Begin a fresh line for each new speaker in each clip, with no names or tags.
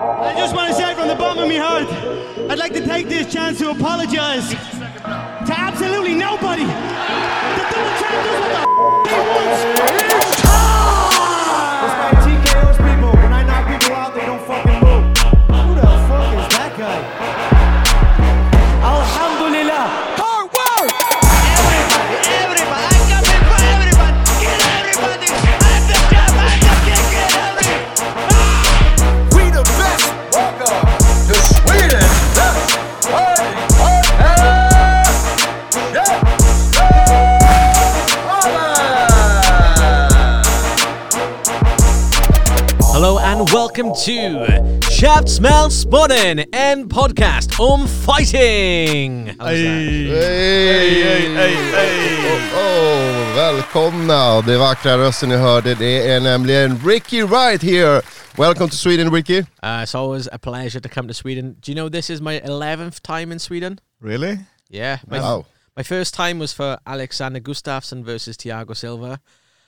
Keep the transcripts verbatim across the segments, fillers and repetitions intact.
I just want to say from the bottom of my heart, I'd like to take this chance to apologize to absolutely nobody. The double champ does what the f*** he wants. It's time!
This man T K Os people. When I knock people out, they don't fucking move. Who the fuck is that guy?
Alhamdulillah.
Hard work!
Everybody, everybody, I come in for everybody. Get everybody. I'm the champ, I'm the king, get everybody.
We the best!
Welcome to Sweden! Party, party!
Hello and welcome to Käftsmällspodden, en podcast om fighting!
Hej, hej, hej, hej! Oh, oh, välkomna! Det vackra rösten ni hörde, det är nämligen Ricky Wright here. Welcome to Sweden, Ricky.
Uh, it's always a pleasure to come to Sweden. Do you know this is my eleventh time in Sweden?
Really?
Yeah. My,
Wow.
my first time was for Alexander Gustafsson versus Thiago Silva.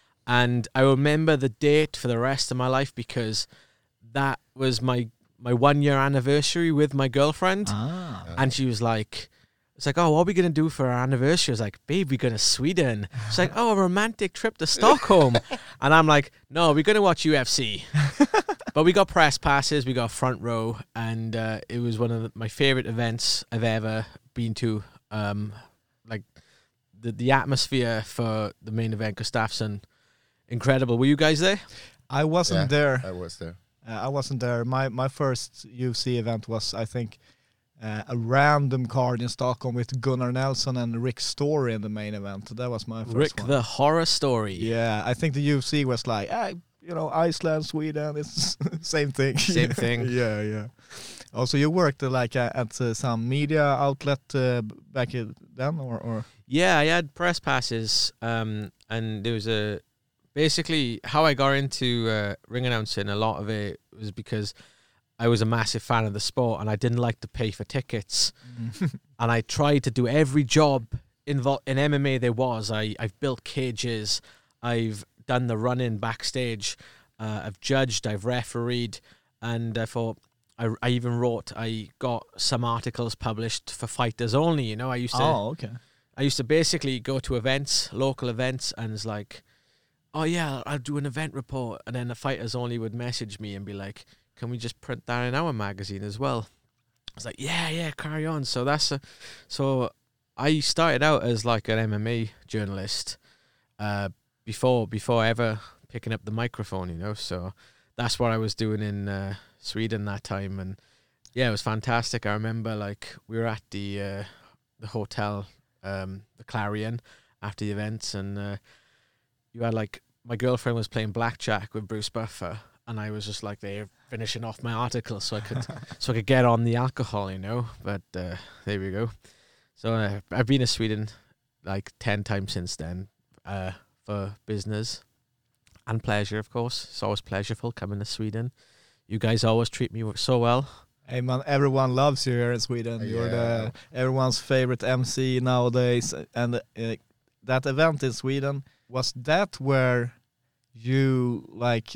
And I remember the date for the rest of my life because that was my my one year anniversary with my girlfriend.
Ah.
And she was like, it's like, oh, what are we going to do for our anniversary? I was like, babe, we're going to Sweden. She's like, oh, a romantic trip to Stockholm. And I'm like, no, we're going to watch U F C. But we got press passes, we got front row, and uh, it was one of the, my favorite events I've ever been to. Um, like, the, the atmosphere for the main event, Gustafsson, incredible. Were you guys there?
I wasn't
Yeah,
there.
I was there.
Uh, I wasn't there. My my first U F C event was, I think, uh, a random card in Stockholm with Gunnar Nelson and Rick Story in the main event. That was my first
Rick
one.
the Horror Story.
Yeah, I think the U F C was like, ah, you know, Iceland, Sweden, it's same thing.
Same thing.
Yeah, yeah. Also, you worked uh, like uh, at uh, some media outlet uh, back in then, or, or?
Yeah, I had press passes, um, and there was a... Basically, how I got into uh, ring announcing, a lot of it was because I was a massive fan of the sport and I didn't like to pay for tickets. And I tried to do every job invo- in M M A there was. I, I've built cages, I've done the run-in backstage, uh, I've judged, I've refereed, and I thought, I, I even wrote, I got some articles published for fighters only, you know, I used to...
Oh, okay.
I used to basically go to events, local events, and it's like, oh yeah, I'll do an event report. And then the fighters only would message me and be like, can we just print that in our magazine as well? I was like, yeah, yeah, carry on. So that's a, so I started out as like an M M A journalist uh, before before ever picking up the microphone, you know. So that's what I was doing in uh, Sweden that time. And yeah, it was fantastic. I remember like we were at the uh, the hotel, um, the Clarion, after the events, and uh, you had like, my girlfriend was playing blackjack with Bruce Buffer, and I was just like there finishing off my article so I could so I could get on the alcohol, you know. But uh, there we go. So uh, I've been to Sweden like ten times since then, uh, for business and pleasure, of course. It's always pleasureful coming to Sweden. You guys always treat me so well.
Hey man, everyone loves you here in Sweden. You're the everyone's favorite M C nowadays, and uh, that event in Sweden, was that where you like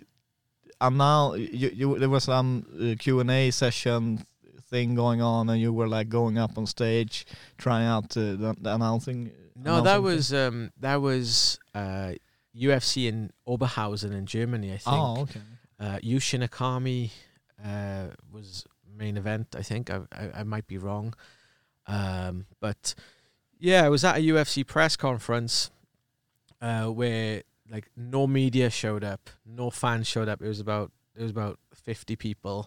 now you, you there was some uh, Q and A session thing going on, and you were like going up on stage trying out uh, the, the announcing?
No,
announcing
that
thing?
was um, that was uh, U F C in Oberhausen in Germany, I think.
Oh, okay.
Uh, Yushin Akami uh, was main event, I think. I, I, I might be wrong. Um, but yeah, I was at a U F C press conference uh, where like no media showed up, no fans showed up. It was about it was about fifty people,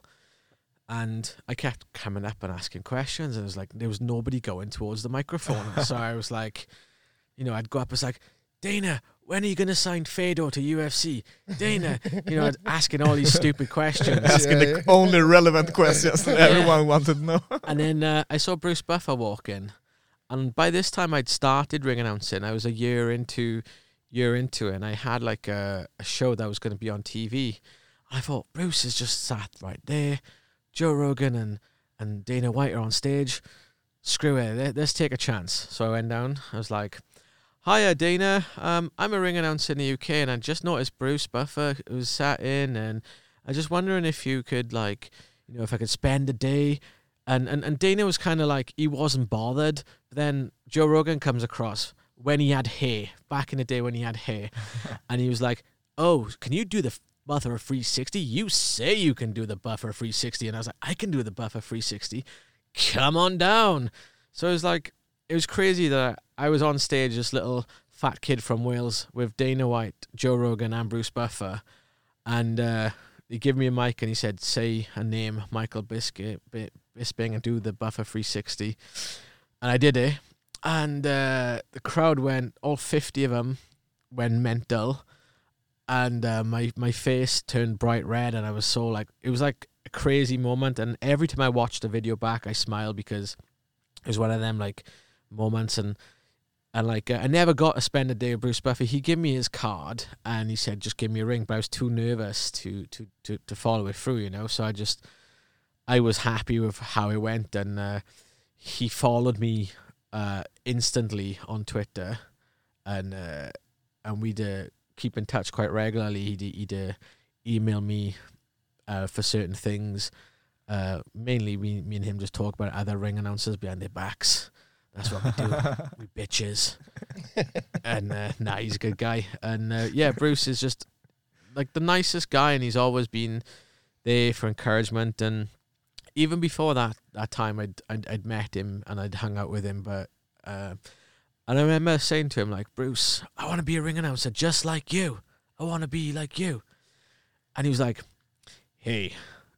and I kept coming up and asking questions, and it was like there was nobody going towards the microphone. So I was like, you know, I'd go up, it's like, Dana, when are you going to sign Fedor to U F C? Dana, you know, asking all these stupid questions.
Asking
Yeah,
the
yeah.
only relevant questions that
Yeah.
everyone wanted to know.
And then uh, I saw Bruce Buffer walk in, and by this time I'd started ring announcing. I was a year into year into it, and I had like a, a show that was going to be on T V. I thought, Bruce is just sat right there. Joe Rogan and, and Dana White are on stage. Screw it, let- let's take a chance. So I went down. I was like, hiya, Dana. Um, I'm a ring announcer in the U K, and I just noticed Bruce Buffer was sat in, and I was just wondering if you could, like, you know, if I could spend a day. And and, and Dana was kind of like, he wasn't bothered. But then Joe Rogan comes across when he had hair, back in the day when he had hair. And he was like, oh, can you do the Buffer three sixty? You say you can do the Buffer three sixty. And I was like, I can do the Buffer three sixty. Come on down. So it was like, it was crazy that I was on stage, this little fat kid from Wales with Dana White, Joe Rogan, and Bruce Buffer. And uh, he gave me a mic and he said, say a name, Michael Biscuit, Bisping, and do the Buffer three sixty. And I did it. And uh, the crowd went, all fifty of them went mental. And uh, my, my face turned bright red. And I was so like, it was like a crazy moment. And every time I watched the video back, I smiled because it was one of them like moments. And And like, uh, I never got to spend a day with Bruce Buffer. He gave me his card and he said, just give me a ring. But I was too nervous to, to, to, to follow it through, you know. So I just, I was happy with how it went. And uh, he followed me uh, instantly on Twitter. And uh, and we'd uh, keep in touch quite regularly. He'd, he'd uh, email me uh, for certain things. Uh, mainly, we, me and him just talk about other ring announcers behind their backs. That's what we do. We bitches. And uh, nah, he's a good guy. And uh, yeah, Bruce is just like the nicest guy, and he's always been there for encouragement. And even before that that time, I'd I'd, I'd met him and I'd hung out with him. But uh, and I remember saying to him like, Bruce, I want to be a ring announcer just like you. I want to be like you. And he was like, hey.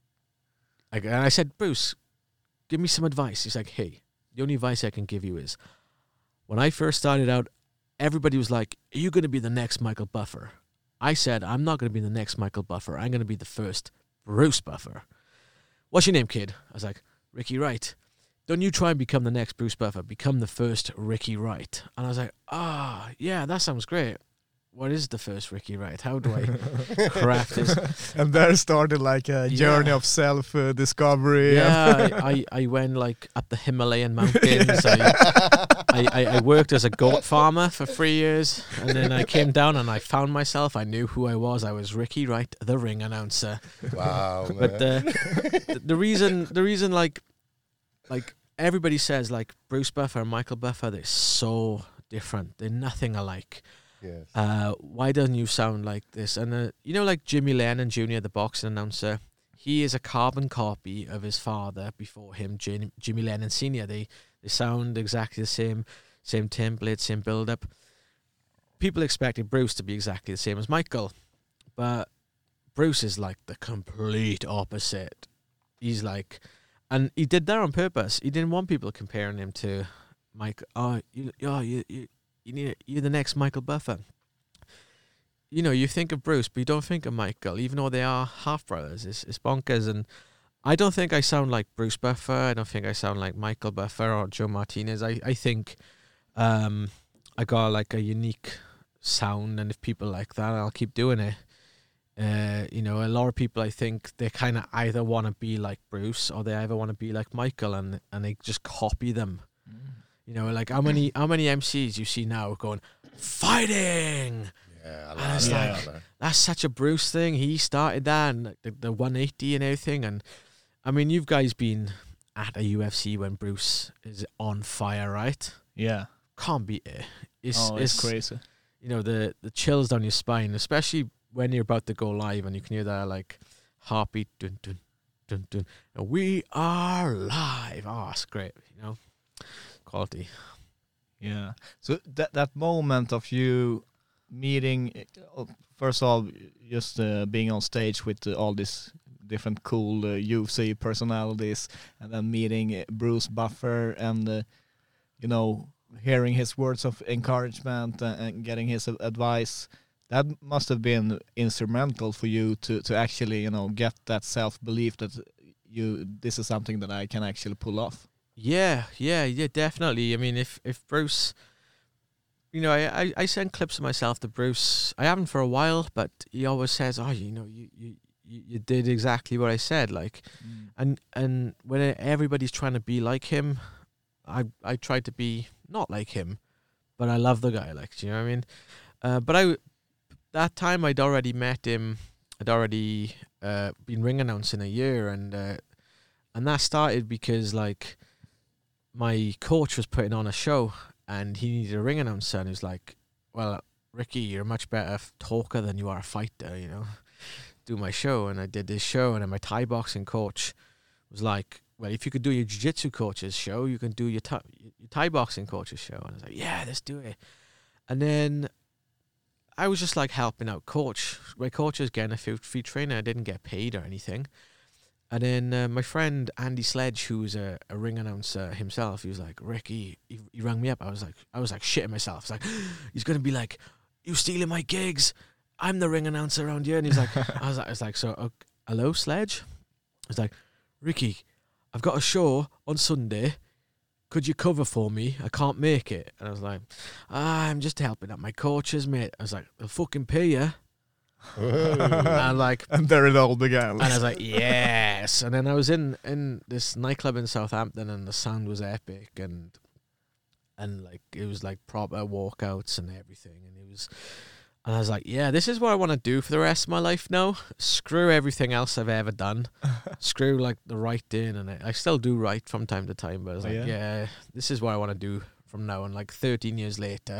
Like, and I said, Bruce, give me some advice. He's like, hey. The only advice I can give you is, when I first started out, everybody was like, are you going to be the next Michael Buffer? I said, I'm not going to be the next Michael Buffer. I'm going to be the first Bruce Buffer. What's your name, kid? I was like, Ricky Wright. Don't you try and become the next Bruce Buffer. Become the first Ricky Wright. And I was like, ah, oh, yeah, that sounds great. What is the first Ricky Wright? How do I craft this?
And there started like a journey
Yeah.
of self-discovery.
Yeah, I, I, I went like up the Himalayan mountains. I, I, I, I worked as a goat farmer for three years. And then I came down and I found myself. I knew who I was. I was Ricky Wright, the ring announcer.
Wow.
But
man.
uh, the, the reason, the reason like, like everybody says like Bruce Buffer and Michael Buffer, they're so different. They're nothing alike.
Yes.
Uh, why doesn't you sound like this? And uh, you know, like Jimmy Lennon Junior, the boxing announcer, he is a carbon copy of his father before him, Jim, Jimmy Lennon Senior. They they sound exactly the same, same template, same build up. People expected Bruce to be exactly the same as Michael, but Bruce is like the complete opposite. He's like, and he did that on purpose. He didn't want people comparing him to Mike. Oh, you, oh, you, you. You need you're the next Michael Buffer. You know, you think of Bruce, but you don't think of Michael, even though they are half brothers. It's, it's bonkers, and I don't think I sound like Bruce Buffer. I don't think I sound like Michael Buffer or Joe Martinez. I I think um, I got like a unique sound, and if people like that, I'll keep doing it. Uh, you know, a lot of people, I think they kind of either want to be like Bruce or they either want to be like Michael, and and they just copy them. Mm. You know, like how many how many M Cs you see now going fighting?
Yeah, I
And
love
it's
that.
like,
man.
that's such a Bruce thing. He started that, and the, the one eighty and everything. And I mean, you've guys been at a U F C when Bruce is on fire, right?
Yeah.
Can't beat it. It's,
Oh, it's crazy.
You know, the the chills down your spine, especially when you're about to go live and you can hear that like heartbeat, dun dun dun dun. And we are live. Oh, it's great. You know. Quality.
Yeah. So that that moment of you meeting, uh, first of all, just uh, being on stage with uh, all these different cool uh, U F C personalities, and then meeting uh, Bruce Buffer, and uh, you know, hearing his words of encouragement and, and getting his uh, advice. That must have been instrumental for you to to actually, you know, get that self belief that you this is something that I can actually pull off.
Yeah, yeah, yeah, definitely. I mean, if if Bruce, you know, I, I, I send clips of myself to Bruce. I haven't for a while, but he always says, "Oh, you know, you you, you, you did exactly what I said." Like, mm. and and when everybody's trying to be like him, I I try to be not like him, but I love the guy. Like, do you know what I mean? Uh, but I that time I'd already met him. I'd already uh, been ring announcing a year, and. Uh, and that started because like my coach was putting on a show, and he needed a ring announcer, and he was like, "Well, Ricky, you're a much better f- talker than you are a fighter, you know. Do my show." And I did this show, and then my Thai boxing coach was like, "Well, if you could do your jiu-jitsu coach's show, you can do your, ta- your Thai boxing coach's show." And I was like, "Yeah, let's do it." And then I was just like helping out coach. My coach was getting a few free training. I didn't get paid or anything. And then uh, my friend Andy Sledge, who's a, a ring announcer himself, he was like, "Ricky," he, he rang me up. I was like, I was like shitting myself. It's like, he's gonna be like, "You stealing my gigs? I'm the ring announcer around here." And he's like, I was like, I was like, "So, uh, hello, Sledge?" I was like, "Ricky, I've got a show on Sunday. Could you cover for me? I can't make it." And I was like, ah, "I'm just helping out my coaches, mate." I was like, "They'll fucking pay you." And like,
And there it all began.
and I was like, yes. And then I was in in this nightclub in Southampton, and the sound was epic, and and like it was like proper walkouts and everything, and it was. And I was like, yeah, this is what I want to do for the rest of my life now. Screw everything else I've ever done. Screw like the writing, and I, I still do write from time to time, but I was
Oh,
like,
yeah?
yeah, this is what I want to do from now. And like thirteen years later,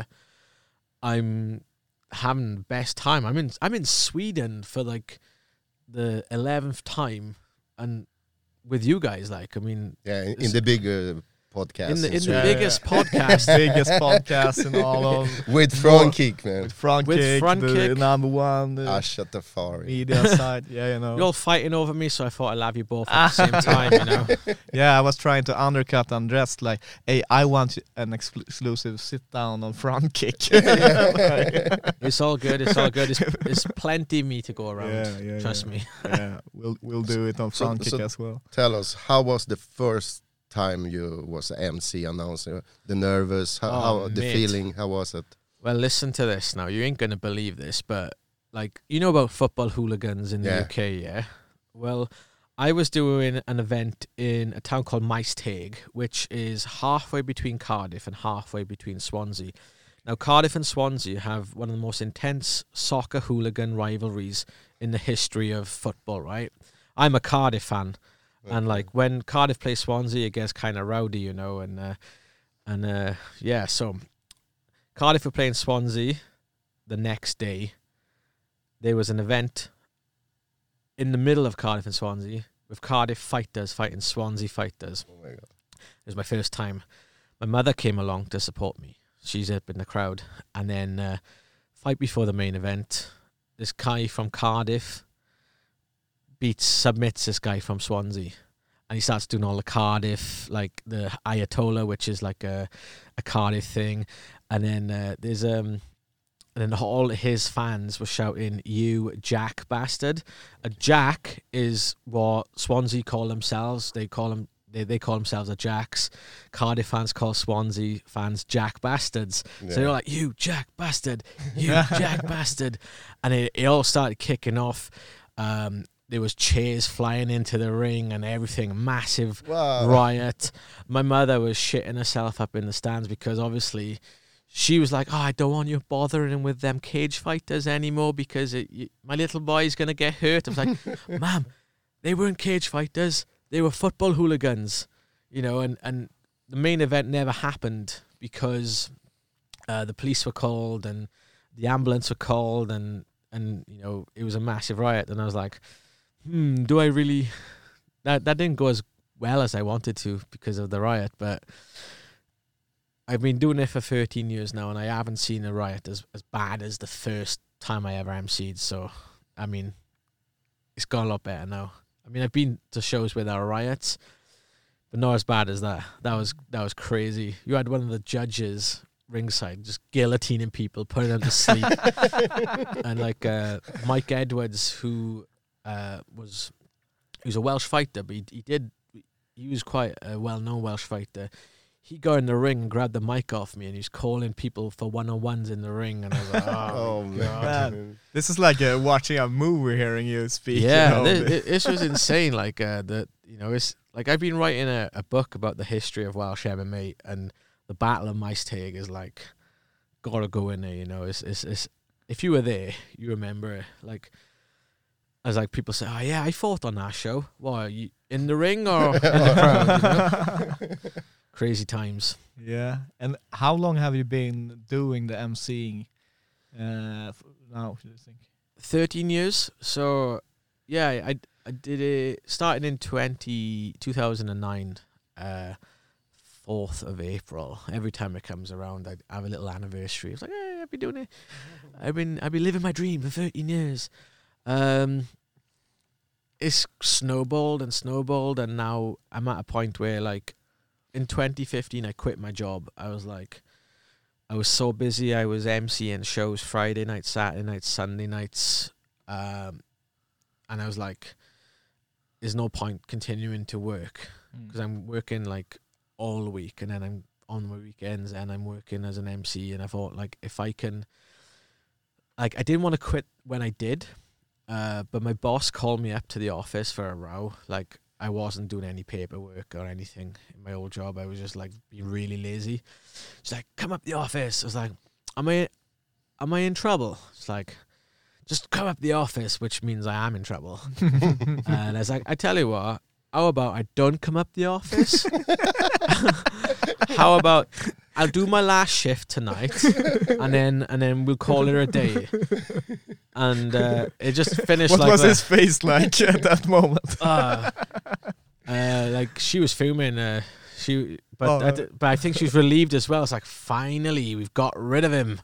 I'm having the best time. I'm in I'm in Sweden for like the eleventh time, and with you guys, like, I mean,
Yeah, in, in
It's-
the bigger podcast.
in the in the
Sweden.
biggest
Yeah,
podcast.
biggest podcast in all of
With front kick, man.
with front
With
kick,
front
the
kick.
number one, the
Ah, shut the fuck.
media side. Yeah, you know.
You're all fighting over me, so I thought I'd have you both at the same time, you know.
Yeah, I was trying to undercut Andres like, "Hey, I want an exclu- exclusive sit down on front kick."
It's all good. It's all good. It's, it's plenty of me to go around.
Yeah, yeah,
Trust
yeah.
me.
Yeah, we'll we'll do it on
So-
front kick
so-
as well.
Tell us, how was the first time you was a M C announcer? The nervous, how,
Oh,
how the
mate.
feeling, how was it?
Well, listen to this now. You ain't gonna believe this, but like, you know about football hooligans in the
Yeah.
U K, yeah? Well, I was doing an event in a town called Maesteg, which is halfway between Cardiff and halfway between Swansea. Now, Cardiff and Swansea have one of the most intense soccer hooligan rivalries in the history of football, right? I'm a Cardiff fan. And like when Cardiff plays Swansea, it gets kind of rowdy, you know, and uh, and uh, yeah. So Cardiff were playing Swansea the next day. There was an event in the middle of Cardiff and Swansea with Cardiff fighters fighting Swansea fighters.
Oh my God.
It was my first time. My mother came along to support me. She's up in the crowd, and then uh, fight before the main event. This guy from Cardiff beats submits this guy from Swansea, and he starts doing all the Cardiff, like the Ayatollah, which is like a a Cardiff thing, and then uh, there's um and then all his fans were shouting, "You Jack bastard!" A Jack is what Swansea call themselves. They call them they they call themselves a Jacks. Cardiff fans call Swansea fans Jack bastards.
Yeah.
So they're like, "You Jack bastard! You Jack bastard!" And it, it all started kicking off. Um, There was chairs flying into the ring and everything. Massive
Wow.
riot. My mother was shitting herself up in the stands because obviously she was like, "Oh, I don't want you bothering with them cage fighters anymore because it, you, my little boy's going to get hurt." I was like, "Ma'am, they weren't cage fighters. They were football hooligans." You know, and, and the main event never happened because uh, the police were called and the ambulance were called and, and, you know, it was a massive riot. And I was like, hmm, do I really... That that didn't go as well as I wanted to because of the riot, but I've been doing it for thirteen years now, and I haven't seen a riot as, as bad as the first time I ever emceed. So, I mean, it's got a lot better now. I mean, I've been to shows where there are riots, but not as bad as that. That was that was crazy. You had one of the judges ringside just guillotining people, putting them to sleep, and like uh, Mike Edwards, who uh, was he was a Welsh fighter, but he, he did he was quite a well-known Welsh fighter. He got in the ring and grabbed the mic off me, and he was calling people for one-on-ones in the ring, and I was like, "Oh,
Oh
my
man.
God."
Man, this is like uh, watching a movie, hearing you speak.
Yeah,
you know,
thi-
the-
thi- this was insane. Like uh, the you know, it's like I've been writing a, a book about the history of Welsh M M A, and the Battle of Maesteg is like gotta go in there. You know, it's it's, it's if you were there, you remember it. Like as like people say, "Oh yeah, I fought on that show." Well, you in the ring or in the crowd. You know? Crazy times.
Yeah. And how long have you been doing the emceeing uh, f- now, do you think?
thirteen years. So, yeah, I, I did it starting in twenty, two thousand nine, uh, fourth of April. Every time it comes around, I have a little anniversary. It's like, hey, I've been doing it. I've been, I've been living my dream for thirteen years. Um, it's snowballed and snowballed, and now I'm at a point where, like, in twenty fifteen, I quit my job. I was like, I was so busy. I was emceeing shows Friday nights, Saturday nights, Sunday nights. Um, and I was like, there's no point continuing to work because mm. I'm working like all the week, and then I'm on my weekends and I'm working as an M C. And I thought, like, if I can, like, I didn't want to quit when I did, uh, but my boss called me up to the office for a row. Like, I wasn't doing any paperwork or anything in my old job. I was just like being really lazy. She's like, come up the office. I was like, am I, am I in trouble? It's like, just come up the office, which means I am in trouble. And I was like, I tell you what, how about I don't come up the office? How about I'll do my last shift tonight, and then and then we'll call it a day. And uh, it just finished
what
like
was
that.
his face like at that moment?
Uh, uh, like she was fuming. Uh, she, but
Oh,
I d- but I think she was relieved as well. It's like, finally we've got rid of him.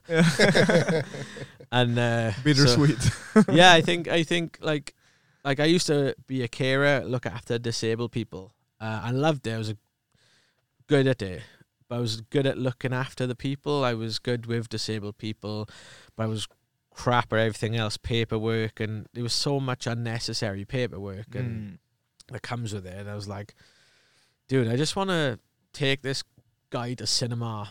And uh,
Bittersweet.
So, yeah, I think I think like like I used to be a carer, look after disabled people. Uh, I loved it. I was a, good at it. But I was good at looking after the people. I was good with disabled people, but I was crap at everything else, paperwork, and there was so much unnecessary paperwork and
Mm.
that comes with it. And I was like, dude, I just want to take this guy to cinema,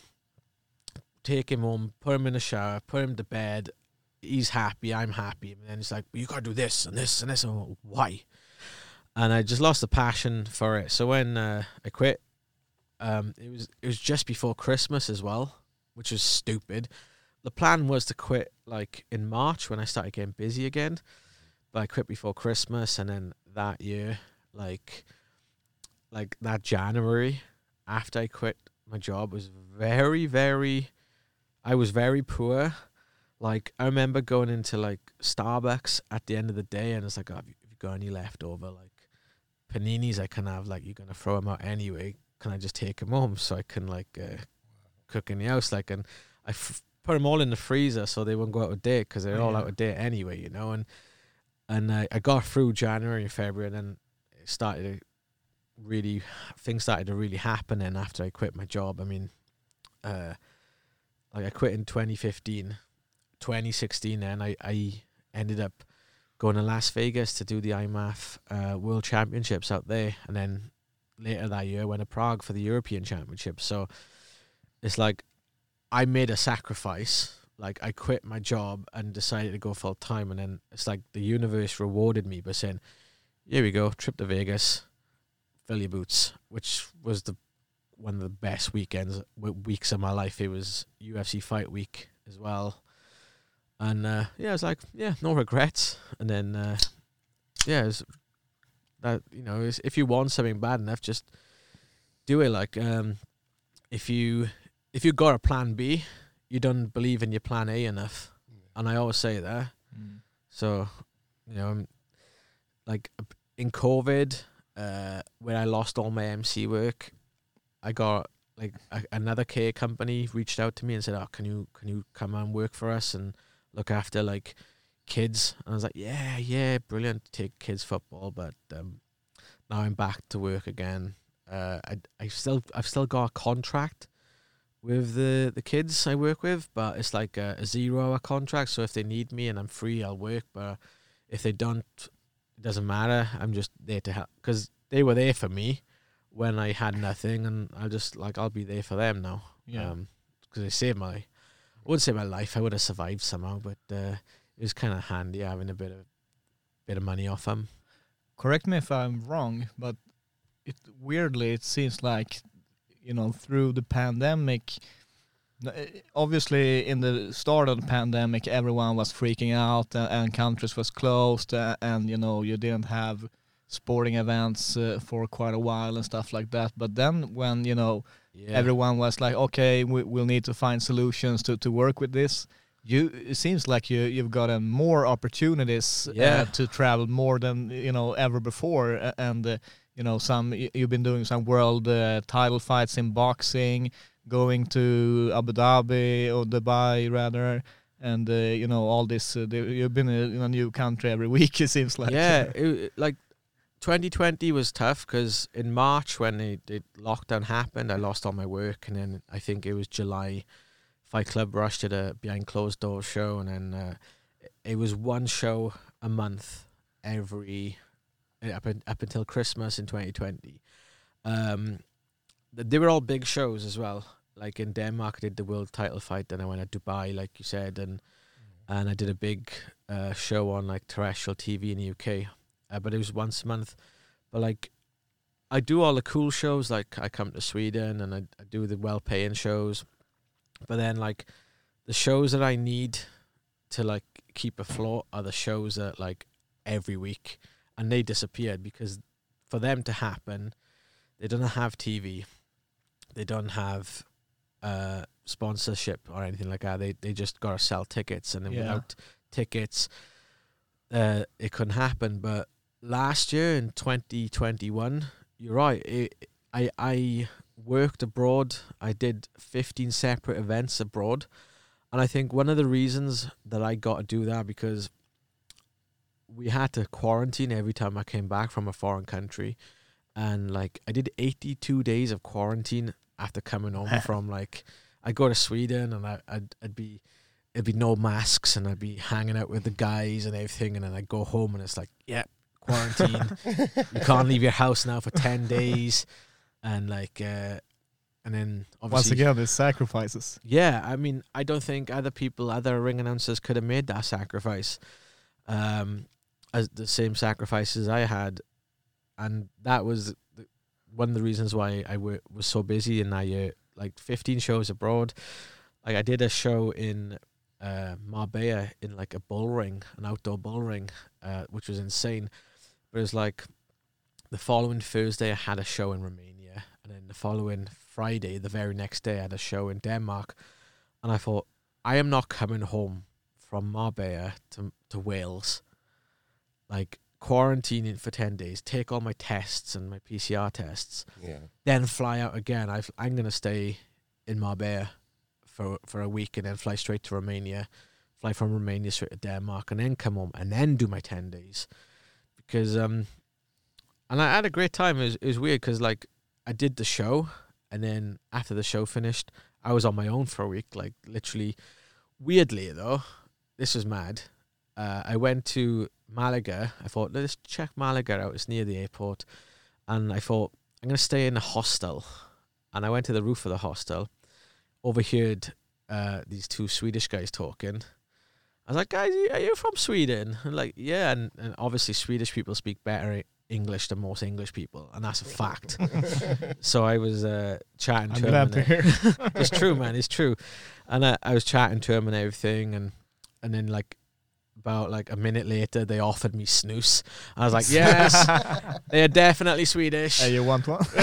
take him home, put him in the shower, put him to bed. He's happy, I'm happy. And then it's like, well, you got to do this and this and this. And like, why? And I just lost the passion for it. So when uh, I quit, um, it was it was just before Christmas as well, which was stupid. The plan was to quit like in March when I started getting busy again, but I quit before Christmas. And then that year, like like that January, after I quit my job, was very, very, I was very poor. Like, I remember going into like Starbucks at the end of the day, and it's like, oh, have you, have you got any leftover like paninis I can have? Like, you're gonna throw them out anyway. Can I just take them home so I can like uh, cook in the house? Like, and I f- put them all in the freezer so they wouldn't go out of date because they're
Oh,
all
yeah.
out of date anyway, you know. And and I, I got through January and February, and then it started to really things started to really happen. And after I quit my job, I mean, uh, like I quit in twenty fifteen, twenty sixteen, and I I ended up going to Las Vegas to do the I M A F uh, World Championships out there, and then later that year went to Prague for the European Championships. So it's like I made a sacrifice. Like, I quit my job and decided to go full time, and then it's like the universe rewarded me by saying, here we go, trip to Vegas, fill your boots, which was the one of the best weekends w- weeks of my life. It was U F C fight week as well. And uh, yeah, I was like, yeah, no regrets. And then uh, yeah, it was that, you know, is if you want something bad enough, just do it. Like, um, if you if you got a plan B, you don't believe in your plan A enough. And I always say that.
Mm.
So, you know, I'm like in COVID, uh, where I lost all my M C work, I got like a, another care company reached out to me and said, "Oh, can you can you come and work for us and look after like kids?" And I was like, "Yeah, yeah, brilliant. Take kids football." But um, now I'm back to work again. Uh, I I still I've still got a contract with the, the kids I work with, but it's like a, a zero hour contract. So if they need me and I'm free, I'll work. But if they don't, it doesn't matter. I'm just there to help because they were there for me when I had nothing, and I'll just like I'll be there for them now.
Yeah.
Um, because they saved my, I wouldn't say my life. I would have survived somehow, but uh, it was kind of handy having a bit of bit of money off them.
Correct me if I'm wrong, but it weirdly it seems like, you know, through the pandemic, n- obviously in the start of the pandemic, everyone was freaking out and, and countries was closed uh, and, you know, you didn't have sporting events uh, for quite a while and stuff like that. But then when, you know,
Yeah.
everyone was like, okay, we, we'll need to find solutions to, to work with this. You, it seems like you, you've gotten more opportunities
Yeah.
uh, to travel more than, you know, ever before. A- And, uh, you know, some y- you've been doing some world uh, title fights in boxing, going to Abu Dhabi or Dubai rather. And, uh, you know, all this, uh, the- you've been in a new country every week, it seems like.
Yeah, it, it- like twenty twenty was tough because in March when the, the lockdown happened, I lost all my work, and then I think it was July, Fight Club Rush did a behind closed doors show, and then uh, it was one show a month every up, in, up until Christmas in twenty twenty. Um, th- they were all big shows as well. Like in Denmark, I did the world title fight, then I went to Dubai, like you said, and and I did a big uh, show on like terrestrial T V in the U K. Uh, but it was once a month. But like, I do all the cool shows. Like I come to Sweden and I, I do the well-paying shows. But then like, the shows that I need to like keep afloat are the shows that like every week, and they disappeared because for them to happen, they don't have T V, they don't have uh, sponsorship or anything like that. They they just gotta sell tickets, and then
Yeah.
without tickets, uh, it couldn't happen. But last year in twenty twenty-one, you're right. It, I I worked abroad. I did fifteen separate events abroad, and I think one of the reasons that I got to do that because we had to quarantine every time I came back from a foreign country, and like I did eighty-two days of quarantine after coming home from like I'd go to Sweden and I, I'd I'd be it'd be no masks and I'd be hanging out with the guys and everything, and then I'd go home and it's like, yeah, quarantine. You can't leave your house now for ten days, and like uh, and then obviously
Once again, there's sacrifices.
yeah, I mean, I don't think other people, other ring announcers could have made that sacrifice, um, as the same sacrifices I had, and that was the, one of the reasons why I w- was so busy in that year. Like fifteen shows abroad. Like I did a show in uh, Marbella in like a bull ring, an outdoor bull ring, uh, which was insane. But it was like the following Thursday I had a show in Romania, and then the following Friday, the very next day, I had a show in Denmark. And I thought, I am not coming home from Marbella to to Wales, like quarantining for ten days, take all my tests and my P C R tests,
Yeah.
then fly out again. I've, I'm going to stay in Marbella for for a week and then fly straight to Romania, fly from Romania straight to Denmark, and then come home and then do my ten days. Because, um, and I had a great time. It was, it was weird because, like, I did the show, and then after the show finished, I was on my own for a week. Like, literally, weirdly, though, this was mad. Uh, I went to Malaga. I thought, let's check Malaga out. It's near the airport. And I thought, I'm going to stay in a hostel. And I went to the roof of the hostel, overheard uh, these two Swedish guys talking. I was like, guys, are you from Sweden? And like, yeah. And, and obviously Swedish people speak better English than most English people. And that's a fact. So I was uh, chatting
I'm
to
glad
him.
to
and,
hear.
uh, it's true, man. It's true. And I, I was chatting to him and everything. And, and then like, about like a minute later, they offered me snus. I was like, yes, they are definitely Swedish.
Hey, you want one?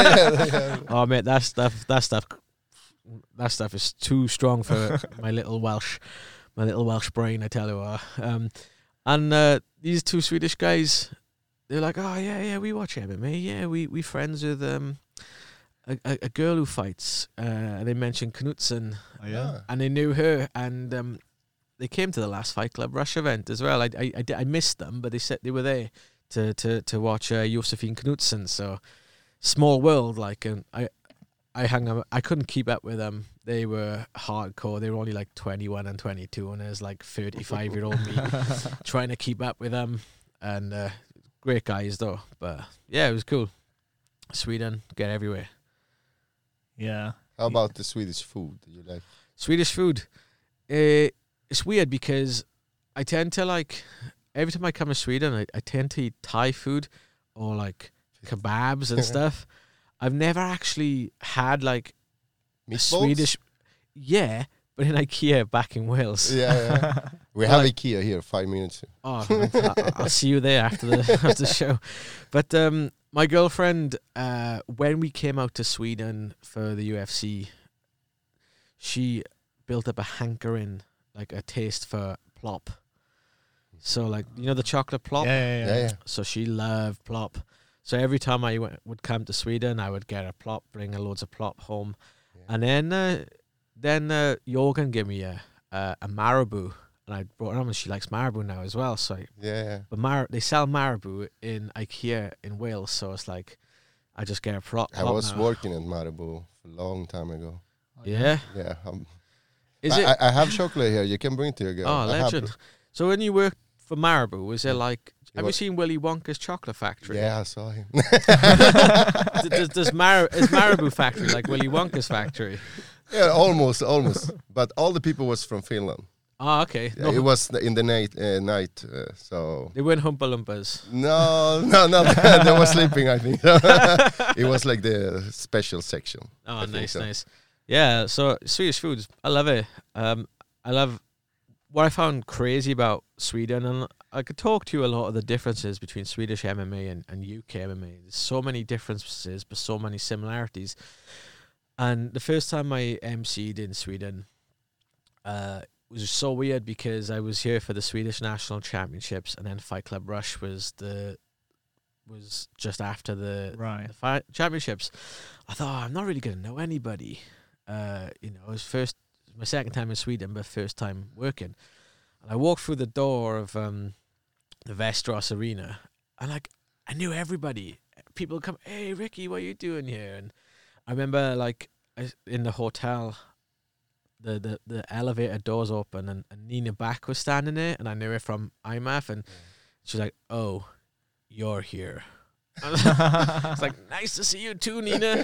Oh mate, that stuff, that stuff, that stuff is too strong for my little Welsh, my little Welsh brain. I tell you what. Um, and uh, these two Swedish guys, they're like, oh yeah, yeah, we watch M M A. Yeah, we we friends with um a, a, a girl who fights. Uh, and they mentioned Knutson,
Oh, yeah.
and they knew her, and um. They came to the last Fight Club Rush event as well. I, I, I, I missed them, but they said they were there to to to watch uh, Josefin Knutson. So small world, like, and I I hung up. I couldn't keep up with them. They were hardcore. They were only like twenty-one and twenty-two, and there's like thirty-five year old me trying to keep up with them. And uh, great guys though. But yeah, it was cool. Sweden, get everywhere.
Yeah.
How about the Swedish food? Do you like?
Swedish food. Uh, it's weird because I tend to like, every time I come to Sweden, I, I tend to eat Thai food or like kebabs and stuff. I've never actually had like a
Meatballs?
Swedish, yeah, but in IKEA back in Wales.
Yeah, yeah. We have IKEA here. Five minutes.
Oh, I- I'll see you there after the after the show. But um, my girlfriend, uh, when we came out to Sweden for the U F C, she built up a hankering, like a taste for plop. So, like, you know the chocolate plop?
Yeah, yeah, yeah.
Yeah, yeah.
So she loved plop. So every time I went, would come to Sweden, I would get a plop, bring her loads of plop home.
Yeah.
And then uh, then uh, Jorgen gave me a, a, a Marabou. And I brought it home, and she likes Marabou now as well. So, I,
Yeah, yeah.
but Mar- they sell Marabou in IKEA in Wales. So it's like, I just get a plop.
I
plop
was
now.
working at Marabou a long time ago.
Yeah.
Yeah. Um,
Is
I,
it?
I I have chocolate here. You can bring it to your girl.
Oh,
I have-
legend. So when you worked for Marabou, was there like,
It
have you
was-
seen Willy Wonka's chocolate factory?
Yeah, I saw him.
D- does does Mar- is Marabou factory like Willy Wonka's factory?
Yeah, almost, almost. But all the people was from Finland.
Oh, okay.
Yeah,
No,
it was in the night, uh, night. Uh, so
they weren't Humpa Lumpas.
no, no, no. They were sleeping. I think it was like the special section.
Oh,
I think
nice,
so.
nice. Yeah, so Swedish foods, I love it. Um, I love what I found crazy about Sweden, and I could talk to you a lot of the differences between Swedish M M A and, and U K M M A. There's so many differences, but so many similarities. And the first time I emceed in Sweden, uh, was so weird because I was here for the Swedish National Championships, and then Fight Club Rush was the was just after the,
Right.
the fight championships. I thought, oh, I'm not really gonna know anybody. Uh, you know, it was first my second time in Sweden, but first time working. And I walked through the door of um, the Västerås Arena, and like I knew everybody. People would come, hey Ricky, what are you doing here? And I remember like I, in the hotel. The, the, the elevator doors open, and, and Nina Back was standing there, and I knew her from I M A F, and she was like, oh, you're here. It's like, nice to see you too, Nina.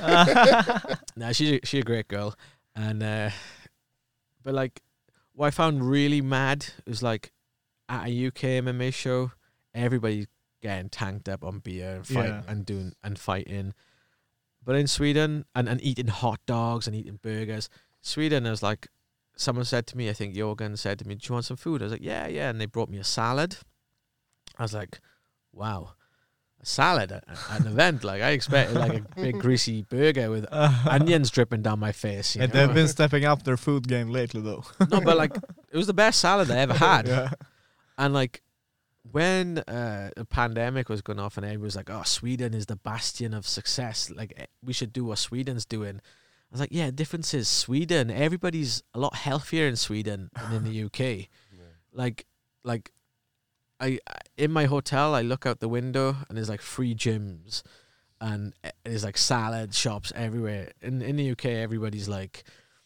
No, she's a, she's a great girl. And uh, but like what I found really mad was like at a U K M M A show, everybody getting tanked up on beer and fight
Yeah.
and doing and fighting. But in Sweden and, and eating hot dogs and eating burgers. Sweden, I was like, someone said to me, I think Jorgen said to me, do you want some food? I was like, yeah, yeah. And they brought me a salad. I was like, wow, a salad at, at an event. Like, I expected like a big greasy burger with onions dripping down my face. You
And
know?
they've been stepping up their food game lately, though.
No, but like, it was the best salad I ever had.
Yeah.
And like, when uh, the pandemic was going off and everyone was like, oh, Sweden is the bastion of success. Like, eh, we should do what Sweden's doing. I was like, yeah, difference is Sweden. Everybody's a lot healthier in Sweden than in the U K. Like, like, I I- in my hotel, I look out the window and there's like free gyms, and eh, there's like salad shops everywhere. In in the U K, everybody's like,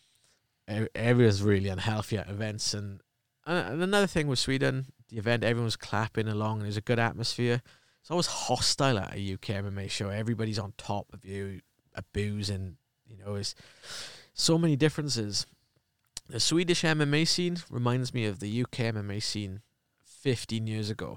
e- everyone's really unhealthy at events. And, and another thing with Sweden, the event, everyone's clapping along. There's a good atmosphere. It's always hostile at a U K M M A show. Everybody's on top of you, a booze and. You know, it's so many differences. The Swedish M M A scene reminds me of the U K M M A scene fifteen years ago,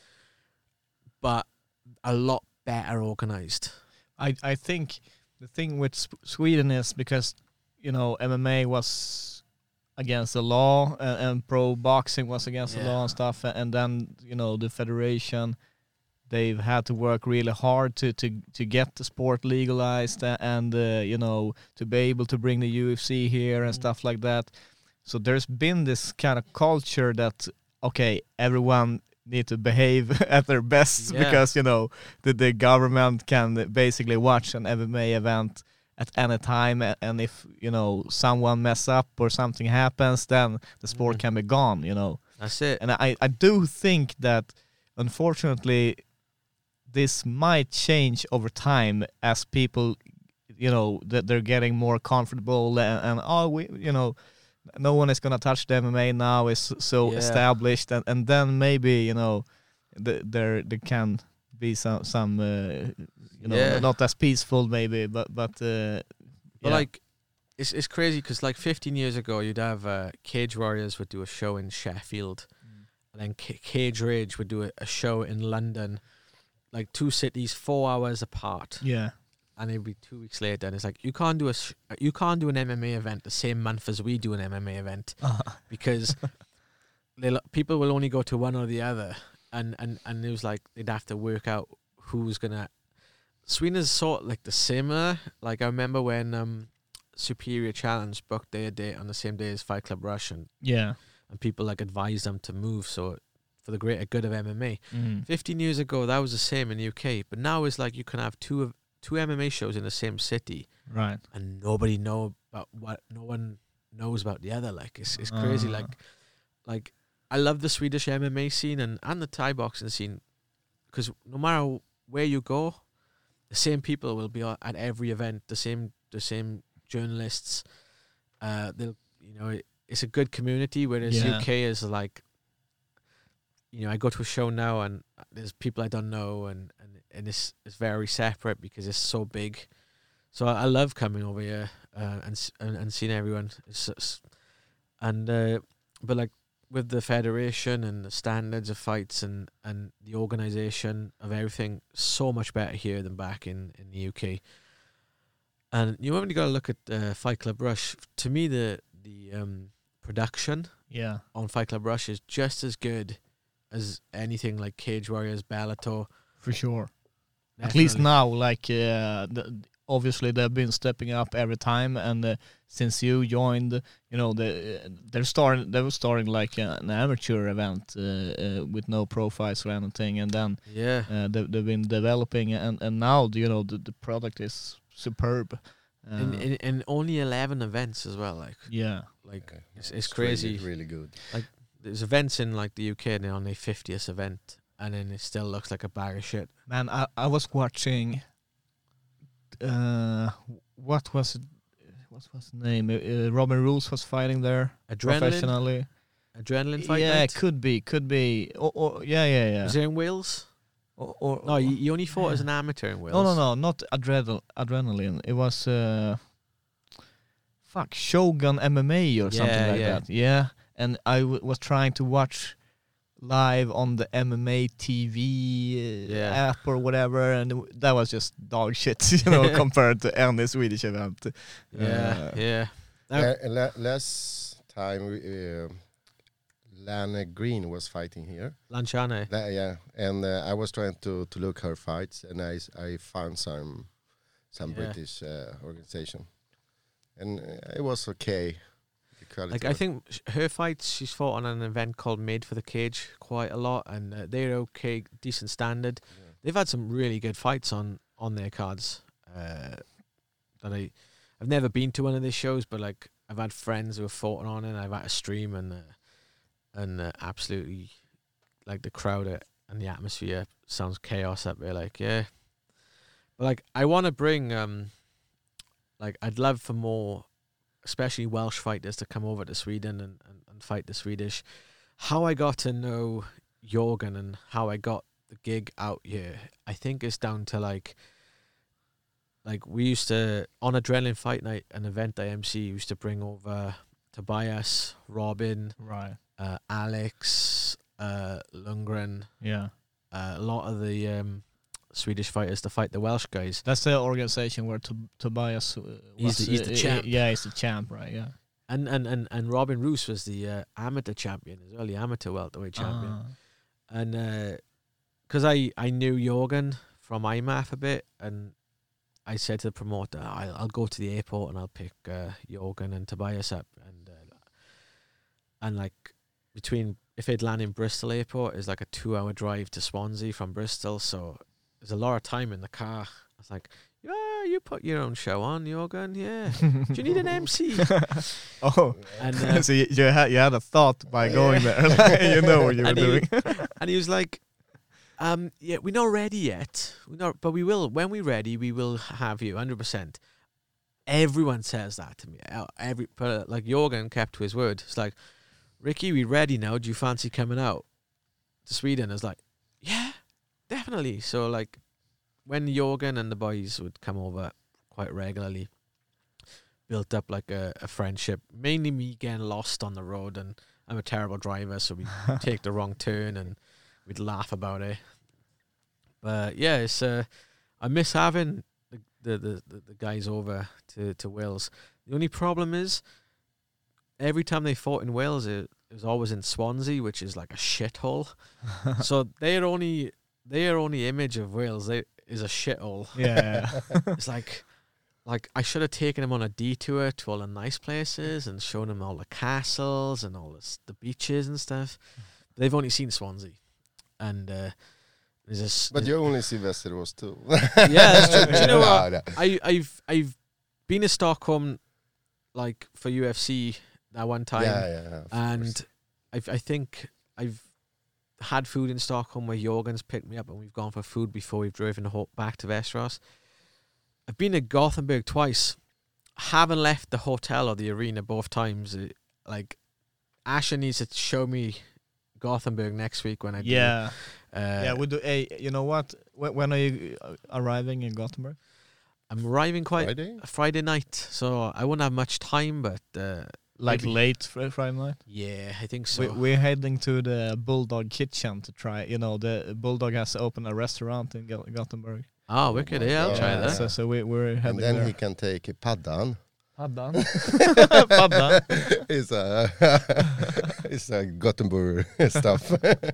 but a lot better organized.
I, I think the thing with Sp- Sweden is because, you know, M M A was against the law and, and pro boxing was against the
Yeah.
law and stuff. And then, you know, the federation, they've had to work really hard to, to, to get the sport legalized a- and, uh, you know, to be able to bring the U F C here and
Mm.
stuff like that. So there's been this kind of culture that, okay, everyone need to behave at their best
Yeah.
because, you know, the, the government can basically watch an M M A event at any time. a- And if, you know, someone mess up or something happens, then the sport
Mhm.
can be gone, you know.
That's it.
And I, I do think that, unfortunately, this might change over time as people, you know, that they're getting more comfortable and, and oh, we, you know, no one is gonna touch the M M A now. It's so
Yeah.
established, and, and then maybe, you know, the, there there can be some some uh, you know,
Yeah.
not as peaceful maybe, but but uh,
But
yeah.
like, it's it's crazy because like fifteen years ago, you'd have uh, Cage Warriors would do a show in Sheffield, and then C- Cage Rage would do a, a show in London, like two cities, four hours apart.
yeah,
and it'll be two weeks later, and it's like you can't do a sh- you can't do an M M A event the same month as we do an M M A event because they'll- people will only go to one or the other, and and and it was like they'd have to work out who's gonna. Sweden is sort of like the similar. Like I remember when um, Superior Challenge booked their date on the same day as Fight Club Rush, and
Yeah.
and people like advised them to move so for the greater good of M M A.
Mm.
Fifteen years ago, that was the same in the U K, but now it's like you can have two of two M M A shows in the same city,
Right.
and nobody know about what no one knows about the other. Like it's it's crazy.
Ah.
Like like I love the Swedish M M A scene and and the Thai boxing scene, because no matter where you go, the same people will be a- at every event. The same the same journalists. Uh, they'll you know it, it's a good community. Whereas
Yeah.
U K is like, you know, I go to a show now and there's people I don't know, and and and it's it's very separate because it's so big. So I, I love coming over here uh, and, s- and and seeing everyone. It's, it's, and uh, but like with the federation and the standards of fights and and the organization of everything, so much better here than back in in the U K. And you only got to look at uh, Fight Club Rush. To me, the the um, production
Yeah.
on Fight Club Rush is just as good as anything like Cage Warriors, Bellator.
For sure. At least
Definitely.
now, like uh, the, obviously they've been stepping up every time, and uh, since you joined, you know, the uh, they're starting. They were starting like uh, an amateur event uh, uh, with no pro fights or anything, and then
Yeah.
uh, they, they've been developing, and and now you know the, the product is superb. Uh,
and, and and only eleven events as well. Like
yeah,
like
Okay.
it's it's
really-
crazy.
Really, good.
There's events in like the U K and they're on their fiftieth event, and then it still looks like a bag of shit.
man, I I was watching. Uh, what was it? What was the name? Uh, uh, Robin Rules was fighting there
Adrenaline,
professionally.
adrenaline fight
yeah,
night.
could be, could be. Or, or yeah, yeah, yeah.
Was there in Wales?
Or, or,
No, you, you only fought as an amateur in Wales.
no, no, no, not adrenal, adrenaline. It was uh, fuck Shogun M M A or something
Yeah,
like
yeah.
that. Yeah, and I w- was trying to watch live on the M M A T V uh,
Yeah.
app or whatever, and it w- that was just dog shit, you know, compared to any Swedish event.
Yeah,
Uh,
yeah. Now-
Uh, la- last time, we, uh, Lana Green was fighting here.
Lanciane.
La- yeah, and uh, I was trying to, to look her fights, and I, s- I found some some
Yeah.
British uh, organization, and uh, it was okay. The quality
Like I
was-
think sh- her fights, she's fought on an event called Made for the Cage quite a lot, and uh, they're okay, decent standard.
Yeah.
They've had some really good fights on on their cards. Uh, that I, I've never been to one of these shows, but like I've had friends who have fought on it. And I've had a stream and uh, and uh, absolutely like the crowd uh, and the atmosphere sounds chaos up there. Like yeah, but like I want to bring um, like I'd love for more, especially Welsh fighters to come over to Sweden and, and, and fight the Swedish. How I got to know Jorgen and how I got the gig out here, I think is down to like, like we used to, on Adrenaline Fight Night, an event I M C, used to bring over Tobias, Robin,
right.
uh, Alex, uh, Lundgren,
Yeah.
uh, a lot of the um, Swedish fighters to fight the Welsh guys.
That's the organization where Tob- Tobias uh,
He's
was.
the- he's the
uh,
champ.
Yeah, he's the champ, right? Yeah.
And and, and, and Robin Roos was the uh, amateur champion as well, the amateur welterweight champion.
Ah.
And because I, I knew Jorgen from I M A F a bit, and I said to the promoter, I'll, I'll go to the airport and I'll pick uh, Jorgen and Tobias up. And uh, and like between, if they'd land in Bristol airport, it's like a two hour drive to Swansea from Bristol. So there's a lot of time in the car. I was like, yeah, you put your own show on, Jorgen, yeah. Do you need an M C?
Oh,
And uh,
so you, you had you had a thought by going there. You know what you were
And he-
doing.
And he was like, um, yeah, we're not ready yet. We're not, but we will. When we're ready, we will have you, one hundred percent. Everyone says that to me. Uh, Every, but uh, like Jorgen kept to his word. It's like, Ricky, we ready now. Do you fancy coming out to Sweden? It's like, yeah, definitely. So like, when Jorgen and the boys would come over quite regularly, built up like a, a friendship. Mainly me getting lost on the road, and I'm a terrible driver, so we take the wrong turn and we'd laugh about it. But yeah, it's uh, I miss having the, the, the, the, the guys over to, to Wales. The only problem is, every time they fought in Wales, it, it was always in Swansea, which is like a shithole. So their only their only image of Wales they, is a shithole.
Yeah.
It's like, like I should have taken them on a detour to all the nice places and shown them all the castles and all this, the beaches and stuff. They've only seen Swansea, and uh, there's this.
But you only see Västerås too.
Yeah, that's true. Do you know
No,
what?
no.
I, I've I've been to Stockholm, like for U F C that one time,
Yeah, yeah. of
and
course.
I've, I think I've had food in Stockholm where Jorgen's picked me up and we've gone for food before we've driven ho- back to Västerås. I've been to Gothenburg twice. Haven't left the hotel or the arena both times. It, like, Asher needs to show me Gothenburg next week when I do.
Yeah.
Uh,
Yeah, we do. Hey, you know what? When, when are you uh, arriving in Gothenburg?
I'm arriving quite
Friday?
a Friday night, so I won't have much time, but uh,
Like
maybe-
late fr- Friday night?
Yeah, I think so.
We, we're heading to the Bulldog Kitchen to try. You know, the Bulldog has opened a restaurant in Go- Gothenburg.
oh, wicked. Yeah, I'll try
Yeah.
that.
So, so we, we're
And
heading
then
there.
he can take paddan.
Paddan. Paddan.
It's a it's a Gothenburg stuff.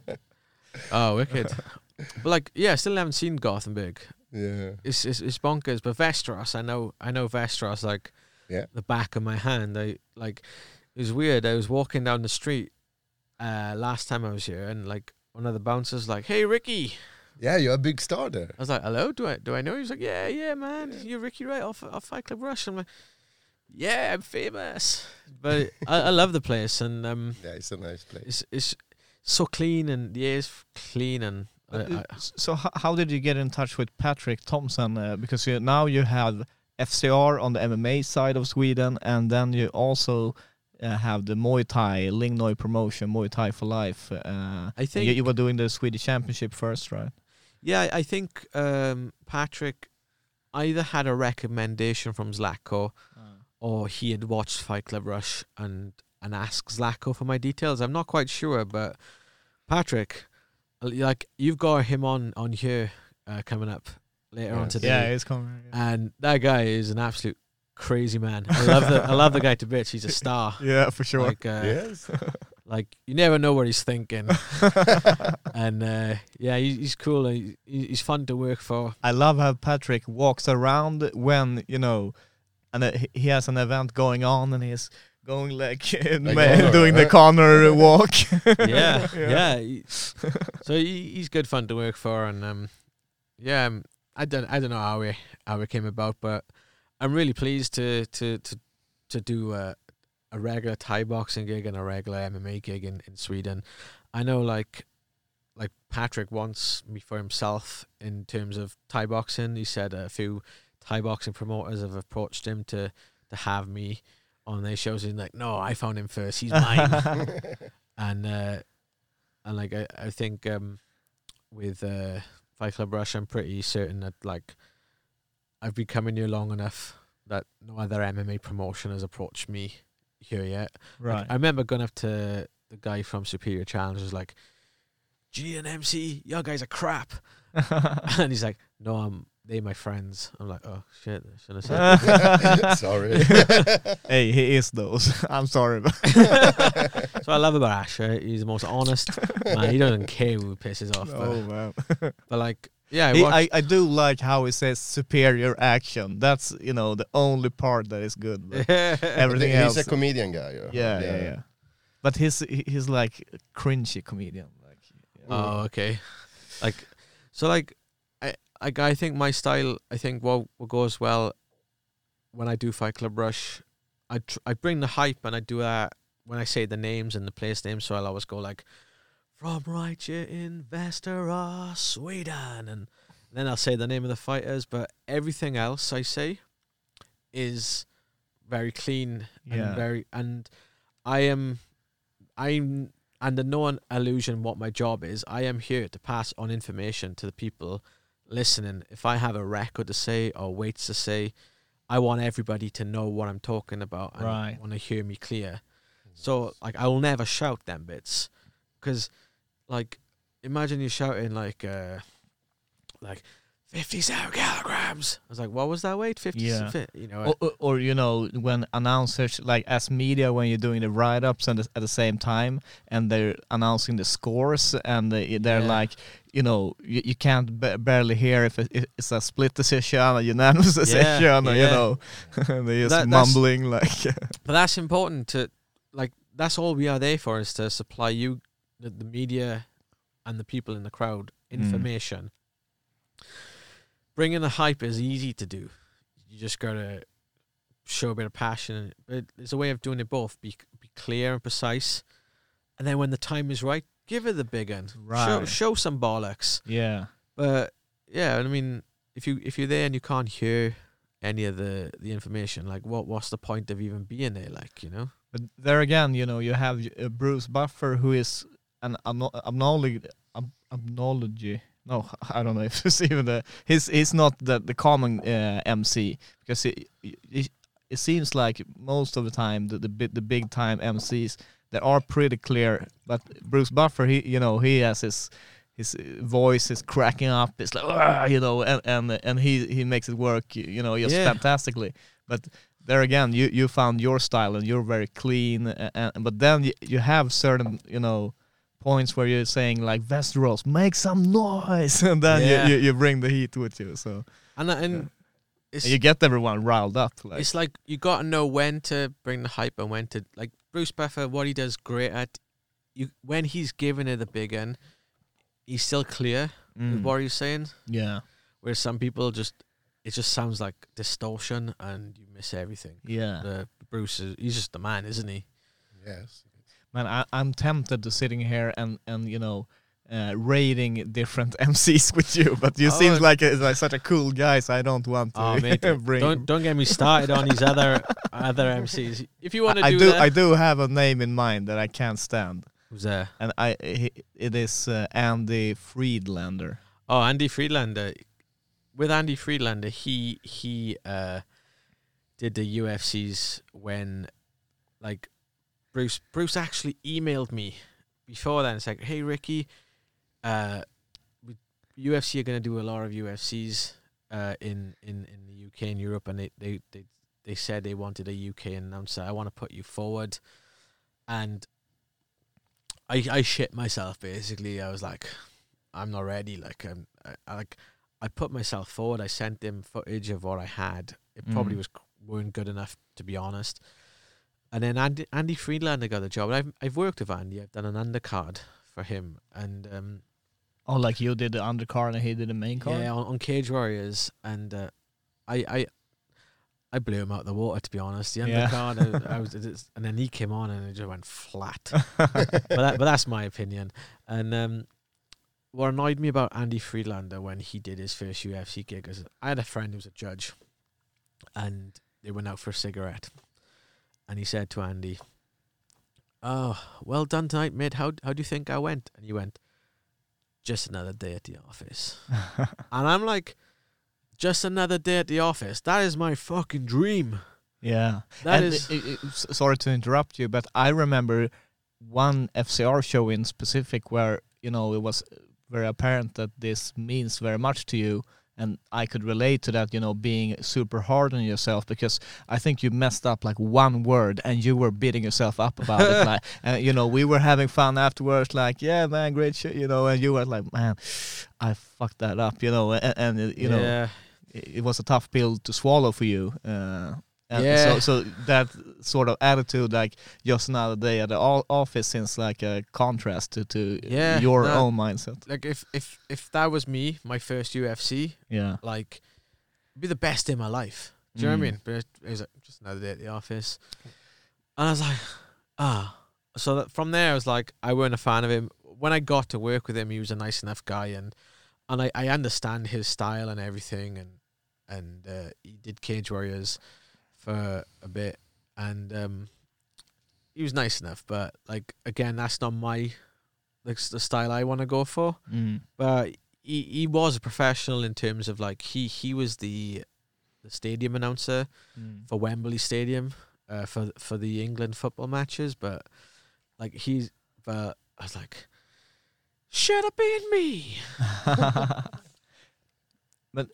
Oh, wicked. But like, yeah, I still haven't seen Gothenburg.
Yeah.
It's, it's it's bonkers. But Västerås, I know I know Västerås like
Yeah.
the back of my hand. I like it was weird. I was walking down the street uh, last time I was here, and like one of the bouncers like, "Hey, Ricky."
Yeah, you're a big star there.
I was like, "Hello, do I do I know?" He was like, "Yeah, yeah, man, you're Ricky Wright off off Fight Club Rush." I'm like, "Yeah, I'm famous." But I, I love the place, and um,
Yeah, it's a nice place.
it's it's so clean, and the air's clean, and I,
Uh,
I,
s- so h- how did you get in touch with Patrick Thompson? Uh, because you, now you have F C R on the M M A side of Sweden, and then you also uh, have the Muay Thai Lingnoi promotion, Muay Thai for Life. Uh,
I think
you, you were doing the Swedish Championship first, right?
Yeah, I think um, Patrick either had a recommendation from Zlatko or he had watched Fight Club Rush and, and asked Zlatko for my details. I'm not quite sure, but Patrick, uh, like you've got him on, on here uh, coming up later on
Yes.
today.
Yeah, it's coming. Yeah.
And that guy is an absolute crazy man. I love the I love the guy to bits. He's a star.
Yeah, for sure.
Like, uh,
Yes.
like you never know what he's thinking. And uh, yeah, he, he's cool. He, he's fun to work for.
I love how Patrick walks around when, you know, and uh, he- he has an event going on and he's going like, in
Like
ma-
Connor,
doing the
right?
Connor walk.
Yeah, yeah. he- so he, he's good fun to work for, and um, yeah, um, I don't I don't know how we how it came about, but I'm really pleased to to to to do a, a regular Thai boxing gig and a regular M M A gig in, in Sweden. I know like like Patrick wants me for himself in terms of Thai boxing. He said a few Thai boxing promoters have approached him to to have me on their shows. He's like, no, I found him first. He's mine. And uh, and like I, I think um, with uh, Fight Club Rush, I'm pretty certain that like I've been coming here long enough that no other M M A promotion has approached me here yet. Like,
Right.
I remember going up to the guy from Superior Challengers like, "Do you need an M C? Your guys are crap." And he's like, "No, I'm they my friends." I'm like, "Oh shit, I shouldn't have said that."
Sorry.
Hey, he is those. I'm sorry. But
So I love about Asher. He's the most honest man. He doesn't care who pisses off.
oh,
But,
man.
but like, yeah, I
He,
watched,
I, I do like how he says superior action. That's, you know, the only part that is good. But everything
He's
else.
a comedian guy. Yeah,
yeah, yeah, yeah. But he's he- he's like a cringy comedian. Like, yeah.
Oh, okay. Like, so like, I like I think my style. I think what what goes well when I do Fight Club Rush, I tr- I bring the hype and I do that when I say the names and the place names. So I'll always go like, from right here in Västerås, Sweden, and then I'll say the name of the fighters. But everything else I say is very clean
Yeah.
and very and I am I'm under no illusion what my job is. I am here to pass on information to the people listening. If I have a record to say or weights to say, I want everybody to know what I'm talking about and
Right.
want to hear me clear. So like I will never shout them bits, because like imagine you shouting like uh like fifty-seven kilograms. I was like, what was that weight? fifty,
Yeah.
fi- you know.
Or, or, or you know, when announcers, like as media, when you're doing the write-ups and at the same time, and they're announcing the scores, and they, they're
Yeah.
like, you know, you, you can't ba- barely hear if, it, if it's a split decision, a unanimous decision, or, you
yeah.
know, they're just
That- that's-
mumbling like.
But that's important to, like, that's all we are there for, is to supply you, the, the media and the people in the crowd, information. Bringing the hype is easy to do. You just gotta show a bit of passion. But there's a way of doing it both. Be be clear and precise. And then when the time is right, give it the big one. Show,
Right.
show some bollocks.
Yeah.
But yeah, I mean, if you if you're there and you can't hear any of the, the information, like what what's the point of even being there? Like, you know?
But there again, you know, you have uh, Bruce Buffer, who is an abnology, abnology. No, I don't know if it's even the. He's he's not the the common uh, M C, because it, it it seems like most of the time the the big, the big time M Cs, they are pretty clear. But Bruce Buffer, he you know he has his his voice is cracking up. It's like "Argh," you know, and and and he he makes it work, you know, just
Yeah.
fantastically. But there again, you you found your style and you're very clean. And, and but then you, you have certain you know. points where you're saying like Westeros, make some noise, and then
Yeah.
you, you you bring the heat with you, so
And that- and
Yeah.
it's
and you get everyone riled up. Like,
it's like you got to know when to bring the hype and when to, like, Bruce Buffer, what he does great at, you when he's giving it a big one, he's still clear with
mm,
what he's saying.
yeah,
Whereas some people just, it just sounds like distortion and you miss everything.
yeah.
The Bruce is, he's just the man, isn't he?
Yes.
Man, I, I'm tempted to sitting here and and you know. Uh, rating different M Cs with you, but you
Oh,
seem like, a, like such a cool guy, so I don't want to
Oh, mate,
bring.
don't don't get me started on these other other M Cs. If you want to
I
do,
do.
that,
I do have a name in mind that I can't stand,
who's there?
and I he, it is uh, Andy Friedlander.
Oh, Andy Friedlander. With Andy Friedlander, he he uh, did the U F Cs when, like, Bruce Bruce actually emailed me before then. It's like, hey Ricky, uh, we, U F C are going to do a lot of U F Cs uh, in in in the U K and Europe, and they they they they said they wanted a U K announcer. I want to put you forward, and I I shit myself basically. I was like, I'm not ready. Like I'm I, I like I put myself forward. I sent him footage of what I had. It probably
Mm.
was weren't good enough, to be honest. And then Andy Andy Friedlander got the job. And I've I've worked with Andy. I've done an undercard for him, and um,
Oh, like you did the undercard and he did the main card.
yeah, on, on Cage Warriors, and uh, I I I blew him out of the water, to be honest. The
Yeah.
undercard, I, I was, it is- and then he came on and it just went flat. but that, but that's my opinion. And um, what annoyed me about Andy Friedlander when he did his first U F C gig is I had a friend who was a judge, and they went out for a cigarette, and he said to Andy, "Oh, well done tonight, mate. How how do you think I went?" And he went, "Just another day at the office." And I'm like, "Just another day at the office? That is my fucking dream."
Yeah.
That
and
is-
i- i- s- sorry to interrupt you, but I remember one F C R show in specific where, you know, it was very apparent that this means very much to you. And I could relate to that, you know, being super hard on yourself, because I think you messed up like one word and you were beating yourself up about it. Like, and you know, we were having fun afterwards, like, yeah, man, great shit, you know, and you were like, man, I fucked that up, you know, and, and uh, you know,
yeah.
it, it was a tough pill to swallow for you. Uh, and
Yeah.
so, so that sort of attitude, like just another day at the o- office, seems like a contrast to, to
Yeah,
your
no.
own mindset.
Like if if if that was me, my first U F C,
Yeah.
like, it'd be the best day of my life. Do you know what I
Mm.
mean? But it was like just another day at the office, and I was like, ah. So that from there, I was like, I weren't a fan of him. When I got to work with him, he was a nice enough guy, and and I, I understand his style and everything, and and uh, he did Cage Warriors for a bit, and um, he was nice enough. But like again, that's not my like s- the style I want to go for.
Mm.
But he he was a professional in terms of like he he was the the stadium announcer
Mm.
for Wembley Stadium uh, for for the England football matches. But like he's but I was like, should have been me.
But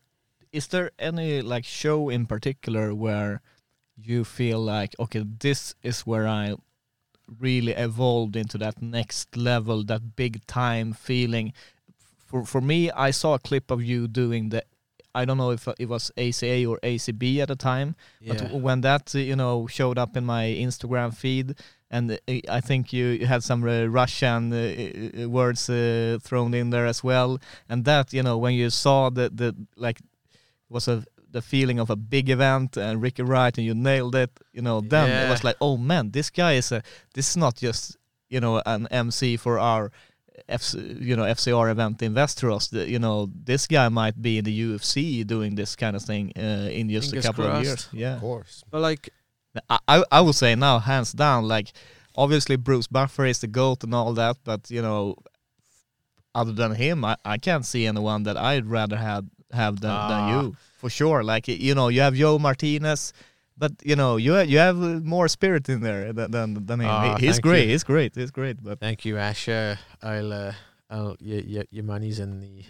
is there any like show in particular where you feel like, okay, this is where I really evolved into that next level, that big time feeling? For for me, I saw a clip of you doing the, I don't know if it was A C A or A C B at the time,
Yeah.
but when that uh, you know showed up in my Instagram feed, and uh, I think you, you had some uh, Russian uh, uh, words uh, thrown in there as well, and that, you know, when you saw the the like was a the feeling of a big event and Ricky Wright and you nailed it, you know, then
Yeah.
it was like, oh man, this guy is a this is not just, you know, an M C for our F C, you know, F C R event in Västerås. The, you know, this guy might be in the U F C doing this kind of thing uh, in just
Fingers
a couple
crossed.
of years. Yeah,
Of course.
But like,
I, I I would say now, hands down, like obviously Bruce Buffer is the GOAT and all that, but you know, other than him, I, I can't see anyone that I'd rather have have than,
Ah.
than you, for sure. Like, you know, you have Joe Martinez, but you know, you ha- you have uh, more spirit in there than than, than him.
Ah,
He- he's
thank
great.
you.
He's great. He's great. But
thank you, Ash. Uh, I'll, uh, I'll, your, your, your money's in the.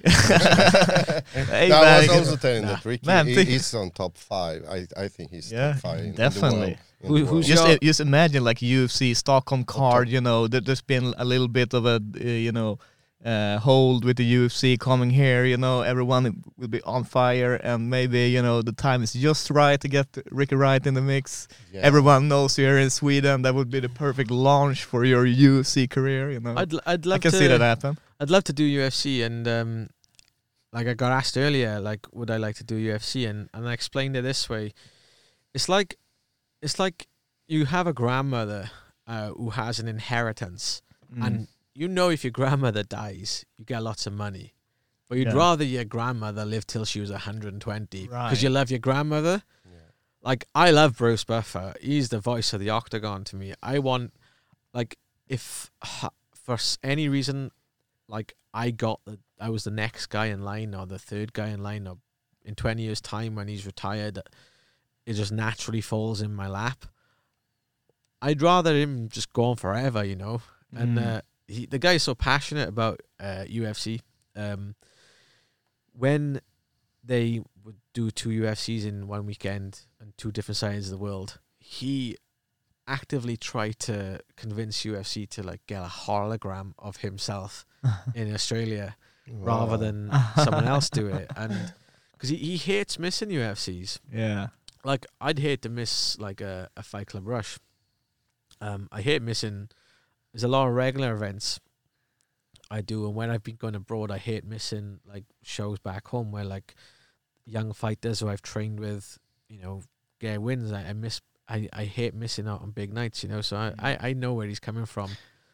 hey,
No, I
man,
was also telling
nah.
that Ricky
Man,
he,
think-
he's on top five. I I think he's
Yeah,
top five in,
definitely.
in the world. in
Who-
the
who's
world.
just
your-
just imagine like U F C Stockholm card.
top.
You know, there, there's been a little bit of a uh, you know. Uh, hold with the U F C coming here, you know, everyone will be on fire, and maybe, you know, the time is just right to get Ricky Wright in the mix.
Yeah.
Everyone knows you're in Sweden. That would be the perfect launch for your U F C career, you know.
I'd, l- I'd
I
love
can
to.
see that happen.
I'd love to do U F C, and um, like I got asked earlier, like would I like to do U F C, and, and I explained it this way: it's like, it's like you have a grandmother uh, who has an inheritance,
Mm.
and you know if your grandmother dies, you get lots of money, but you'd
Yeah.
rather your grandmother live till she was one hundred twenty because
Right.
you love your grandmother.
Yeah.
Like, I love Bruce Buffer. He's the voice of the octagon to me. I want, like, if ha- for s- any reason, like, I got the, I was the next guy in line or the third guy in line, or in twenty years' time when he's retired, it just naturally falls in my lap. I'd rather him just go on forever, you know. And
Mm.
uh, he, the guy's so passionate about uh, U F C. Um, when they would do two U F Cs in one weekend and two different sides of the world, he actively tried to convince U F C to like get a hologram of himself in Australia rather
Wow.
than someone else do it, and because he, he hates missing U F Cs.
Yeah.
Like, I'd hate to miss like a, a Fight Club Rush. Um, I hate missing. There's a lot of regular events I do, and when I've been going abroad, I hate missing like shows back home where like young fighters who I've trained with, you know, get wins. I, I miss. I, I hate missing out on big nights, you know. So I, I, I know where he's coming from.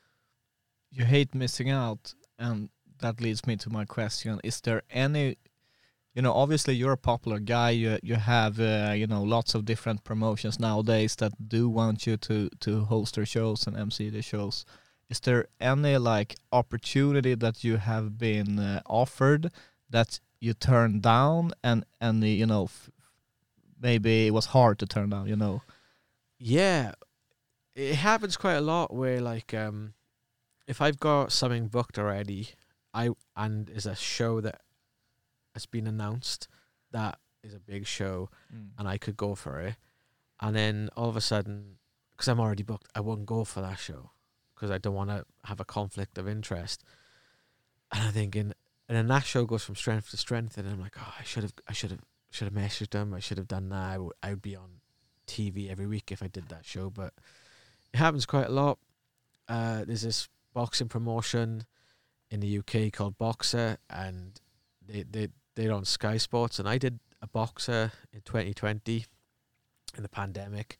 You hate missing out, and that leads me to my question: is there any, you know, obviously you're a popular guy. You you have uh, you know, lots of different promotions nowadays that do want you to to host their shows and M C the shows. Is there any like opportunity that you have been uh, offered that you turned down, and and uh, you know, f- maybe it was hard to turn down, you know?
Yeah, it happens quite a lot where like um, if I've got something booked already, I and is a show that has been announced that is a big show, and I could go for it, and then all of a sudden, because I'm already booked, I won't go for that show because I don't want to have a conflict of interest. And I'm thinking, and then that show goes from strength to strength, and I'm like, oh, I should have, I should have, should have messaged them. I should have done that. I would, I would be on T V every week if I did that show, but it happens quite a lot. Uh, there's this boxing promotion in the U K called Boxer, and they they they're on Sky Sports, and I did a Boxer in twenty twenty in the pandemic,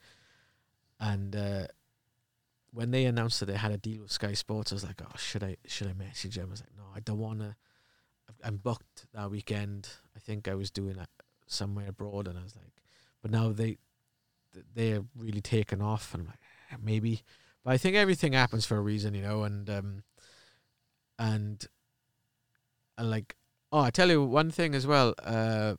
and uh, when they announced that they had a deal with Sky Sports, I was like, oh, should I should I message them? I was like, no, I don't want to. I'm booked that weekend. I think I was doing it somewhere abroad, and I was like, but now they they're really taken off, and I'm like, eh, maybe. But I think everything happens for a reason, you know, and um, and and like, oh, I tell you one thing as well. Uh,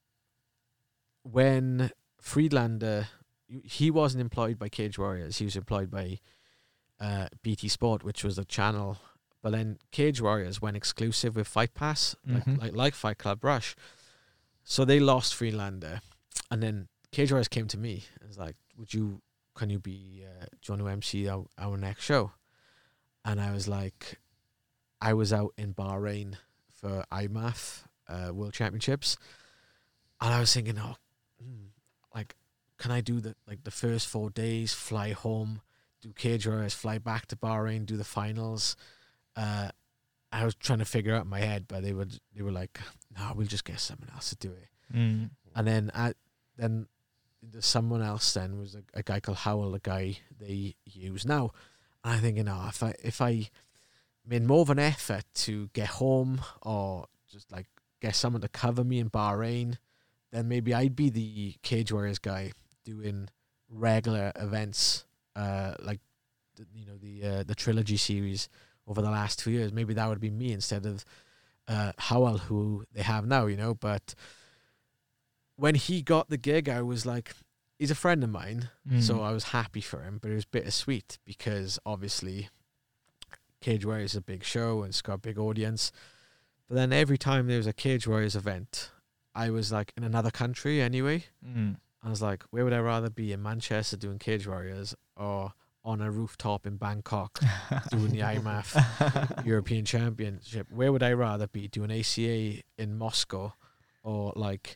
when Friedlander, he wasn't employed by Cage Warriors, he was employed by uh, B T Sport, which was the channel. But then Cage Warriors went exclusive with Fight Pass,
Mhm.
like, like like Fight Club Rush. So they lost Freelander, and then Cage Warriors came to me and was like, "Would you? Can you be? Uh, do you want to M C our, our next show?" And I was like, I was out in Bahrain for I M A F uh, World Championships, and I was thinking, oh, hmm, like, can I do the like the first four days, fly home, do Cage Warriors, fly back to Bahrain, do the finals? Uh, I was trying to figure out in my head, but they would they were like, no, we'll just get someone else to do it.
Mm.
And then I, then there's someone else. Then was a, a guy called Howell, the guy they use now. And I'm thinking, oh, if I if I made more of an effort to get home or just like get someone to cover me in Bahrain, then maybe I'd be the Cage Warriors guy doing regular events, uh, like the, you know the uh, the trilogy series over the last two years. Maybe that would be me instead of uh, Howell, who they have now. You know, but when he got the gig, I was like, he's a friend of mine,
Mm.
so I was happy for him, but it was bittersweet because obviously Cage Warriors is a big show and it's got a big audience. But then every time there was a Cage Warriors event, I was like in another country anyway.
Mm.
I was like, where would I rather be, in Manchester doing Cage Warriors or on a rooftop in Bangkok doing the I M A F European Championship? Where would I rather be, doing A C A in Moscow or like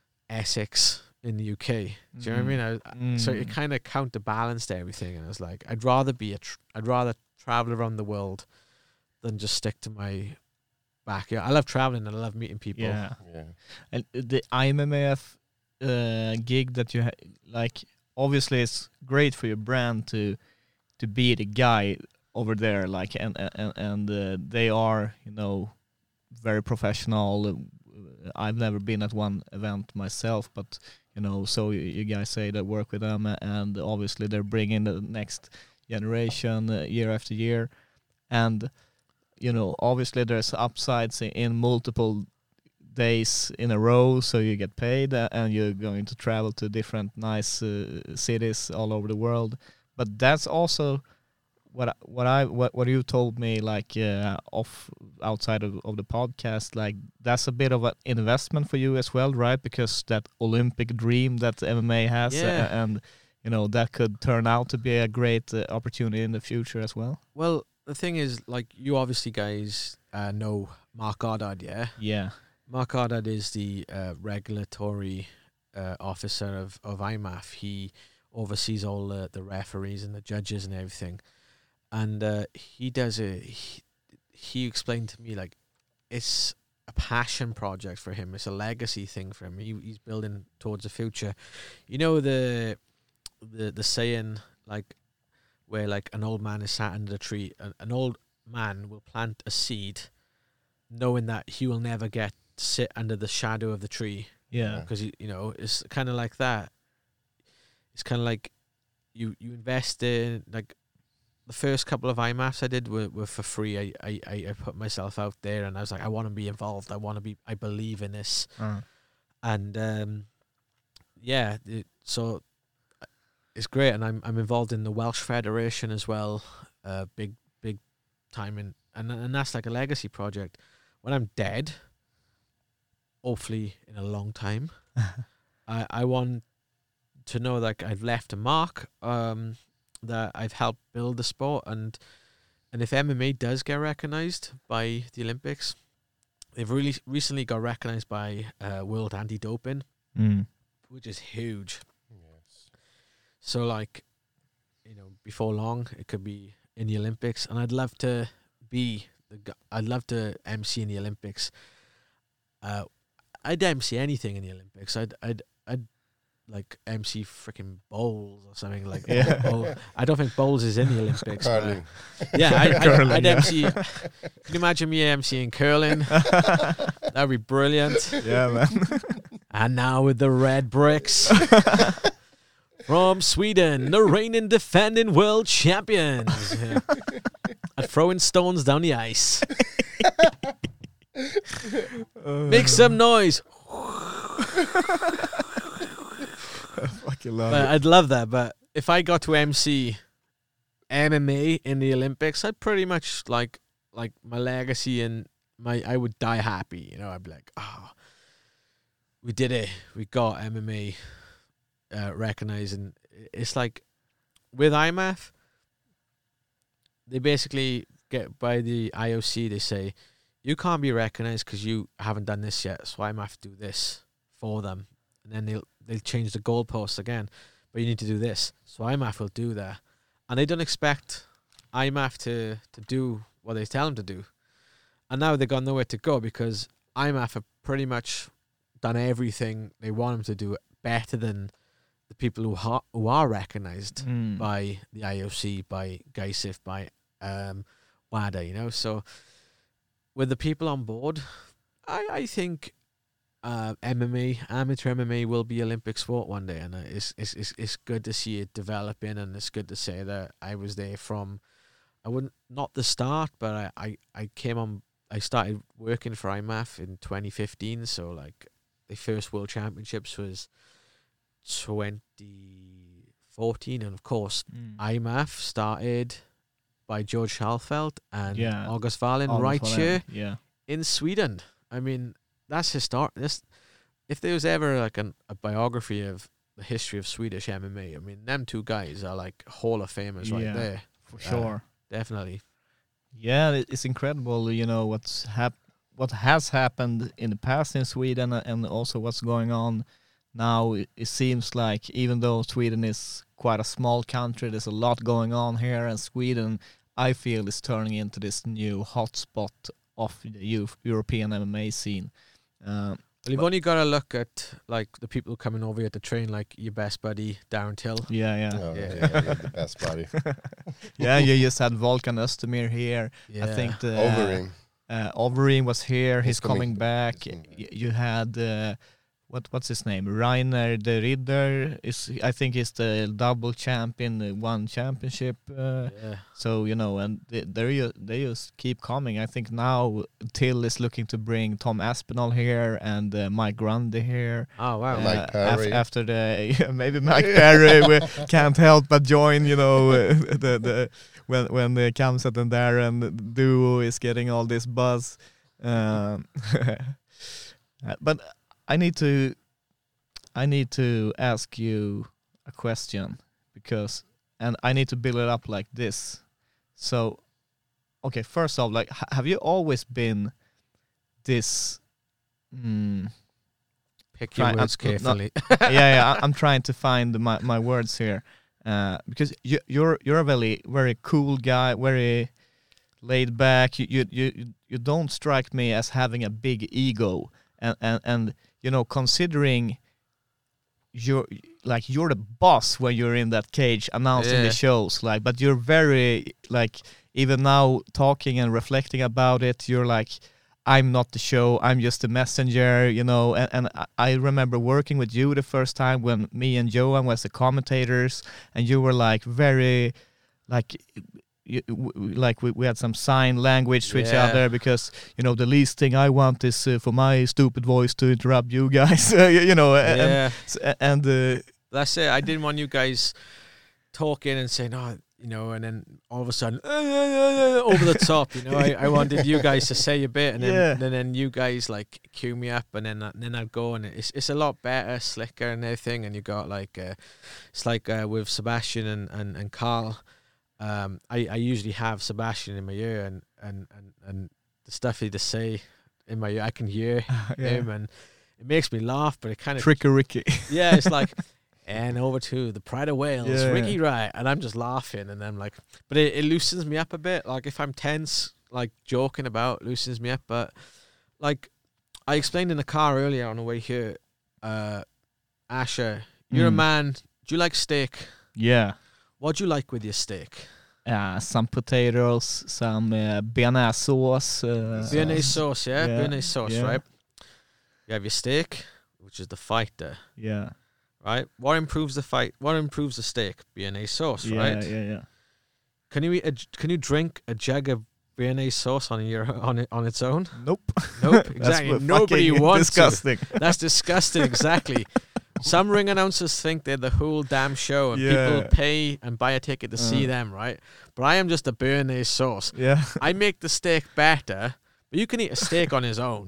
Essex in the U K? Do you know what I mean? I,
Mm.
So it kind of counterbalanced everything, and I was like, I'd rather be a, tr- I'd rather travel around the world than just stick to my backyard. I love traveling and I love meeting people.
Yeah.
Yeah.
And the I M M A F uh, gig that you ha- like, obviously it's great for your brand to to be the guy over there, like, and and and uh, they are, you know, very professional. Uh, I've never been at one event myself, but you know, so you, you guys say that work with them, and obviously they're bringing the next generation uh, year after year, and you know, obviously there's upsides in, in multiple days in a row, so you get paid, uh, and you're going to travel to different nice uh, cities all over the world. But that's also what I, what I what what you told me, like uh, off outside of, of the podcast, like that's a bit of an investment for you as well, right? Because that Olympic dream that M M A has,
Yeah.
uh, and you know that could turn out to be a great uh, opportunity in the future as well.
Well, the thing is, like, you obviously guys uh, know Mark Goddard, yeah?
Yeah.
Mark Goddard is the uh, regulatory uh, officer of, of I M A F. He oversees all the, the referees and the judges and everything. And uh, he does a... He, he explained to me, like, it's a passion project for him. It's a legacy thing for him. He, he's building towards the future. You know the the the saying, like, where, like, an old man is sat under a tree. An, an old man will plant a seed knowing that he will never get to sit under the shadow of the tree.
Yeah.
Because, you, you know, it's kind of like that. It's kind of like you, you invest in, like, the first couple of I M A Fs I did were, were for free. I, I, I I put myself out there and I was like, I want to be involved. I want to be, I believe in this.
Uh.
And, um, yeah, it, so it's great. And I'm I'm involved in the Welsh Federation as well. Uh, big, big time. In, and, and that's like a legacy project. When I'm dead, hopefully in a long time, I, I want to know that I've left a mark, um, that I've helped build the sport, and and if M M A does get recognized by the Olympics, they've really recently got recognized by uh, World Anti-Doping,
Mm.
which is huge.
Yes.
So, like, you know, before long, it could be in the Olympics, and I'd love to be the. gu- I'd love to M C in the Olympics. Uh, I'd M C anything in the Olympics. I'd, I'd, I'd like M C freaking bowls or something like.
Yeah.
Bowl. I don't think bowls is in the Olympics. but-
Curling.
yeah, I, I,
Curling,
I'd
yeah.
M C. Can you imagine me MCing curling? That'd be brilliant.
Yeah, man.
And now with the red bricks. From Sweden, the reigning defending world champions. Yeah. At throwing stones down the ice. Make some noise.
Fucking love
But
it.
I'd love that. But if I got to M C M M A in the Olympics, I'd pretty much like like my legacy and my I would die happy. You know, I'd be like, oh, we did it. We got M M A uh, recognizing. It's like with I M A F, they basically get by the I O C. They say you can't be recognized because you haven't done this yet. So I M A F do this for them, and then they'll they'll change the goalposts again. But you need to do this. So I M A F will do that, and they don't expect I M A F to to do what they tell them to do. And now they've got nowhere to go because I M A F have pretty much done everything they want them to do better than the people who, ha- who are recognized
Mm.
by the I O C, by GAISIF, by um, WADA, you know. So with the people on board, I, I think uh, M M A, amateur M M A will be Olympic sport one day. And uh, it's, it's, it's, it's good to see it developing, and it's good to say that I was there from, I wouldn't, not the start, but I, I, I came on, I started working for I M A F in twenty fifteen, so like the first World Championships was twenty fourteen, and of course
Mm.
I M A F started by George Schalfeld and
Yeah.
August Wallin
All
right
for them.
here
Yeah.
in Sweden. I mean, that's historic. This, if there was ever like an, a biography of the history of Swedish M M A, I mean, them two guys are like Hall of Famers right
Yeah.
there.
For
Yeah.
sure.
Definitely.
Yeah, it- it's incredible, you know, what's hap- what has happened in the past in Sweden, uh, and also what's going on now. It, it seems like even though Sweden is quite a small country, there's a lot going on here, and Sweden, I feel, is turning into this new hotspot of the Eu- European M M A scene. Um,
Well, you've only got to look at like the people coming over here to train, like your best buddy Darren Till.
yeah, yeah.
Oh,
Yeah.
yeah, you're the best buddy.
Yeah, you just had Volkan Östemir here.
Yeah.
I think the
Overing.
Uh, Overeem was here. He's,
He's coming-
coming back.
he's coming back.
Y- you had uh, what what's his name? Rainer de Ridder is I think he's the double champion, uh, one championship. Uh,
Yeah.
so you know, and they they they just keep coming. I think now Till is looking to bring Tom Aspinall here and uh, Mike Grundy here.
Oh wow.
Uh,
Mike
af-
Perry.
after the yeah, maybe Mike Perry we can't help but join. You know, uh, the the when when the Kamsat and Darren duo is getting all this buzz. Um, uh, but I need to I need to ask you a question because and I need to build it up like this. So, okay, first off, like, h- have you always been this? Mm,
Pick
Try-
your
I'm
words
not-
carefully.
yeah, yeah. I, I'm trying to find my, my words here, uh, because you, you're you're a very very cool guy, very laid back. You you you you don't strike me as having a big ego, and and and you know, considering you're like you're the boss when you're in that cage announcing
Yeah.
the shows, like, but you're very like even now talking and reflecting about it, you're like, I'm not the show, I'm just the messenger, you know. And, and I- I remember working with you the first time when me and Johan was the commentators, and you were like very, like, you, w- w- like we, we had some sign language to each
Yeah.
other because, you know, the least thing I want is uh, for my stupid voice to interrupt you guys, uh, you you know. And,
Yeah.
and uh,
That's it. I didn't want you guys talking and saying, oh, you know, and then all of a sudden, uh, uh, uh, over the top, you know. I, I wanted you guys to say a bit, and then
Yeah.
and then you guys like cue me up, and then and then I'd go, and it's it's a lot better, slicker, and everything. And you got like, uh, it's like uh, with Sebastian and and and Carl. Um, I I usually have Sebastian in my ear, and and and and the stuff he just say in my ear, I can hear
yeah.
him, and it makes me laugh, but it kind of
Tricky Ricky.
yeah, it's like, and over to the Pride of Wales,
Yeah.
Ricky Wright, and I'm just laughing, and I'm like, but it, it loosens me up a bit. Like if I'm tense, like joking about, loosens me up. But like I explained in the car earlier on the way here, uh, Asher, you're a
Mm.
man. Do you like steak?
Yeah.
What do you like with your steak?
Uh, some potatoes, some uh, bearnaise sauce. Uh,
Béarnaise sauce, yeah,
yeah,
Béarnaise sauce,
yeah.
right? You have your steak, which is the fighter,
Yeah.
right? What improves the fight? What improves the steak? Béarnaise sauce,
Yeah,
right?
yeah, yeah.
Can you eat a, j- can you drink a jug of Béarnaise sauce on your on it on its own?
Nope.
Nope,
That's
exactly.
what
Nobody
fucking
wants
disgusting.
to. That's disgusting. Exactly. Some ring announcers think they're the whole damn show, and
Yeah.
people pay and buy a ticket to see
Uh.
them, right? But I am just a Béarnaise sauce.
Yeah.
I make the steak better, but you can eat a steak on its own.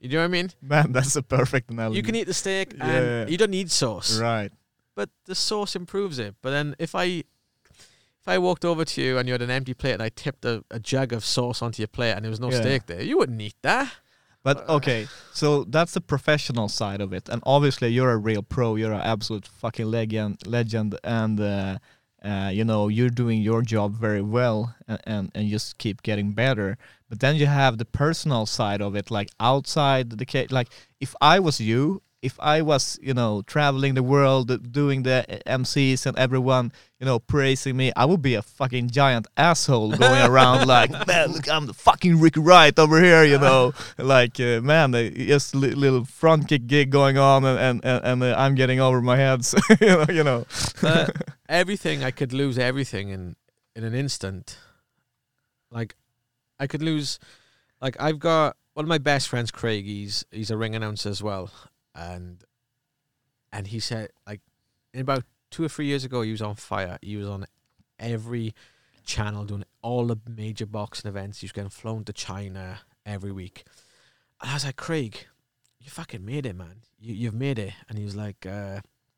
You know what I mean?
Man, that's a perfect analogy.
You can eat the steak and
Yeah.
you don't need sauce.
Right.
But the sauce improves it. But then if I if I walked over to you and you had an empty plate and I tipped a, a jug of sauce onto your plate and there was no
Yeah.
steak there, you wouldn't eat that.
But okay, so that's the professional side of it, and obviously you're a real pro. You're an absolute fucking legend, legend, and uh, uh, you know you're doing your job very well, and, and and just keep getting better. But then you have the personal side of it, like outside the cage. Like if I was you, if I was you know traveling the world, uh, doing the M Cs and everyone you know praising me, I would be a fucking giant asshole going around like, man, look, I'm the fucking Ricky Wright over here, you know. Like, uh, man, uh, just li- little front kick gig going on, and and, and, and uh, I'm getting over my head, so, you know. You know.
Uh, everything, I could lose everything in, in an instant. Like, I could lose, like, I've got one of my best friends, Craig, he's, he's a ring announcer as well. And, and he said, like, in about two or three years ago, he was on fire. He was on every channel doing all the major boxing events. He was getting flown to China every week. And I was like, Craig, you fucking made it, man. You, you've made it. And he was like, uh,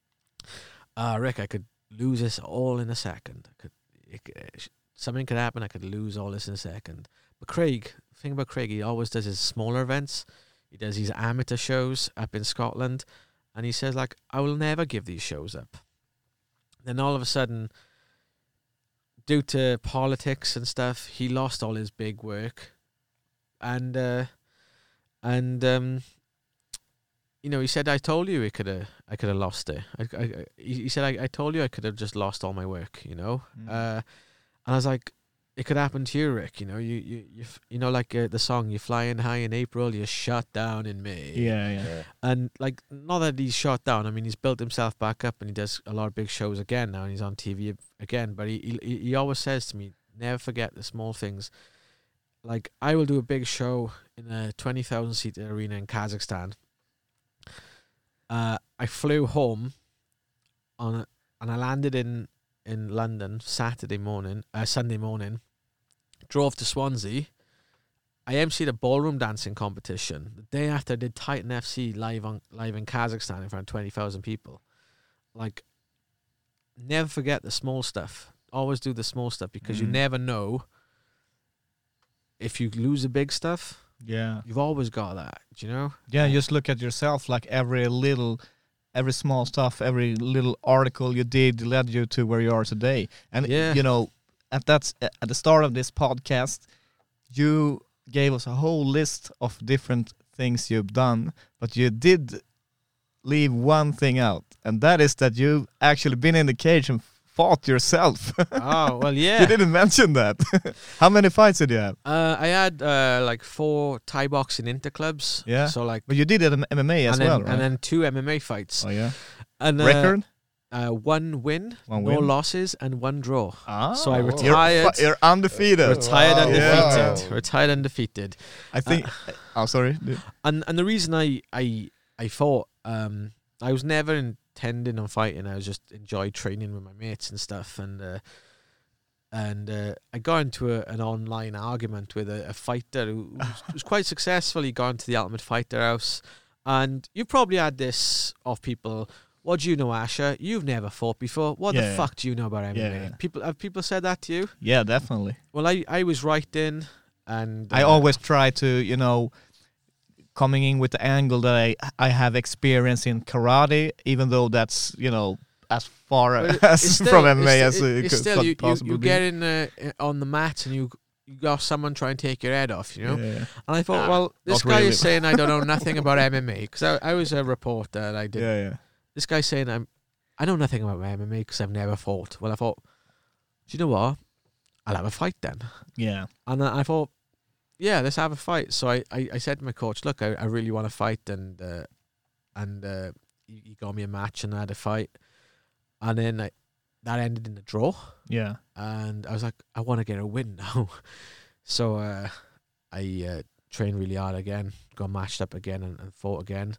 uh, Rick, I could lose this all in a second. I could, it, it, something could happen. I could lose all this in a second. But Craig, the thing about Craig, he always does his smaller events. He does these amateur shows up in Scotland. And he says, like, I will never give these shows up. Then all of a sudden, due to politics and stuff, he lost all his big work. And, uh, and um, you know, he said, I told you I could have I could have lost it. I, I, he he said, I, I told you I could have just lost all my work, you know?
Mm.
Uh, and I was like, it could happen to you, Rick. You know, you you you, f- you know, like uh, the song, "You're flying high in April, you're shut down in May."
Yeah, yeah.
Yeah.
And like, not that he's shot down. I mean, he's built himself back up, and he does a lot of big shows again now, and he's on T V again. But he he, he always says to me, never forget the small things. Like, I will do a big show in a twenty thousand seat arena in Kazakhstan. Uh, I flew home on a, and I landed in in London Saturday morning, uh, Sunday morning. Drove to Swansea. I emceed a ballroom dancing competition the day after I did Titan F C live on live in Kazakhstan in front of twenty thousand people. Like, never forget the small stuff. Always do the small stuff, because you
Mm.
never know if you lose the big stuff.
Yeah.
You've always got that, do you know?
Yeah, just look at yourself, like every little, every small stuff, every little article you did led you to where you are today. And,
Yeah.
you know, at that's at the start of this podcast, you gave us a whole list of different things you've done, but you did leave one thing out, and that is that you've actually been in the cage and fought yourself.
Oh, well, yeah.
You didn't mention that. How many fights did you have?
Uh, I had uh, like four Thai boxing interclubs.
Yeah.
So like,
But you did it in M M A as
and then,
well, right?
and then two M M A fights.
Oh yeah.
And uh,
Record?
Uh, one win,
One
no
win.
losses, and one draw.
Ah,
So I
you're
retired.
fu- You're, undefeated.
Retired
Wow.
undefeated.
Yeah.
Retired undefeated.
I think. oh, sorry. dude.
And and the reason I I I fought, um, I was never intending on fighting. I was just enjoyed training with my mates and stuff. And uh, and uh, I got into a, an online argument with a, a fighter who was, was quite successful. He got into the Ultimate Fighter House, and you probably had this of people. What do you know, Asher? You've never fought before. What
Yeah.
the fuck do you know about M M A?
Yeah.
People have people said that to you?
Yeah, definitely.
Well, I, I was right in, and
I
uh,
always try to, you know, coming in with the angle that I I have experience in karate, even though that's, you know, as far
But it-
as
it's still-
from M M A
it's
as
sti-
it
it's
could
still you, you,
possibly
you
be.
get in uh, on the mat and you you got someone try and take your head off, you know.
Yeah.
And I thought,
Ah,
well, this
not
guy
really.
is saying I don't know nothing about M M A, because I, I was a reporter and I did.
Yeah, yeah.
This guy's saying I'm I know nothing about M M A because I've never fought. Well, I thought, do you know what? I'll have a fight then.
Yeah.
And then I thought, yeah, let's have a fight. So I, I, I said to my coach, look, I, I really want to fight, and uh, and uh, he, he got me a match and I had a fight, and then I, that ended in a draw.
Yeah.
And I was like, I want to get a win now. So uh, I uh, trained really hard again, got matched up again and, and fought again.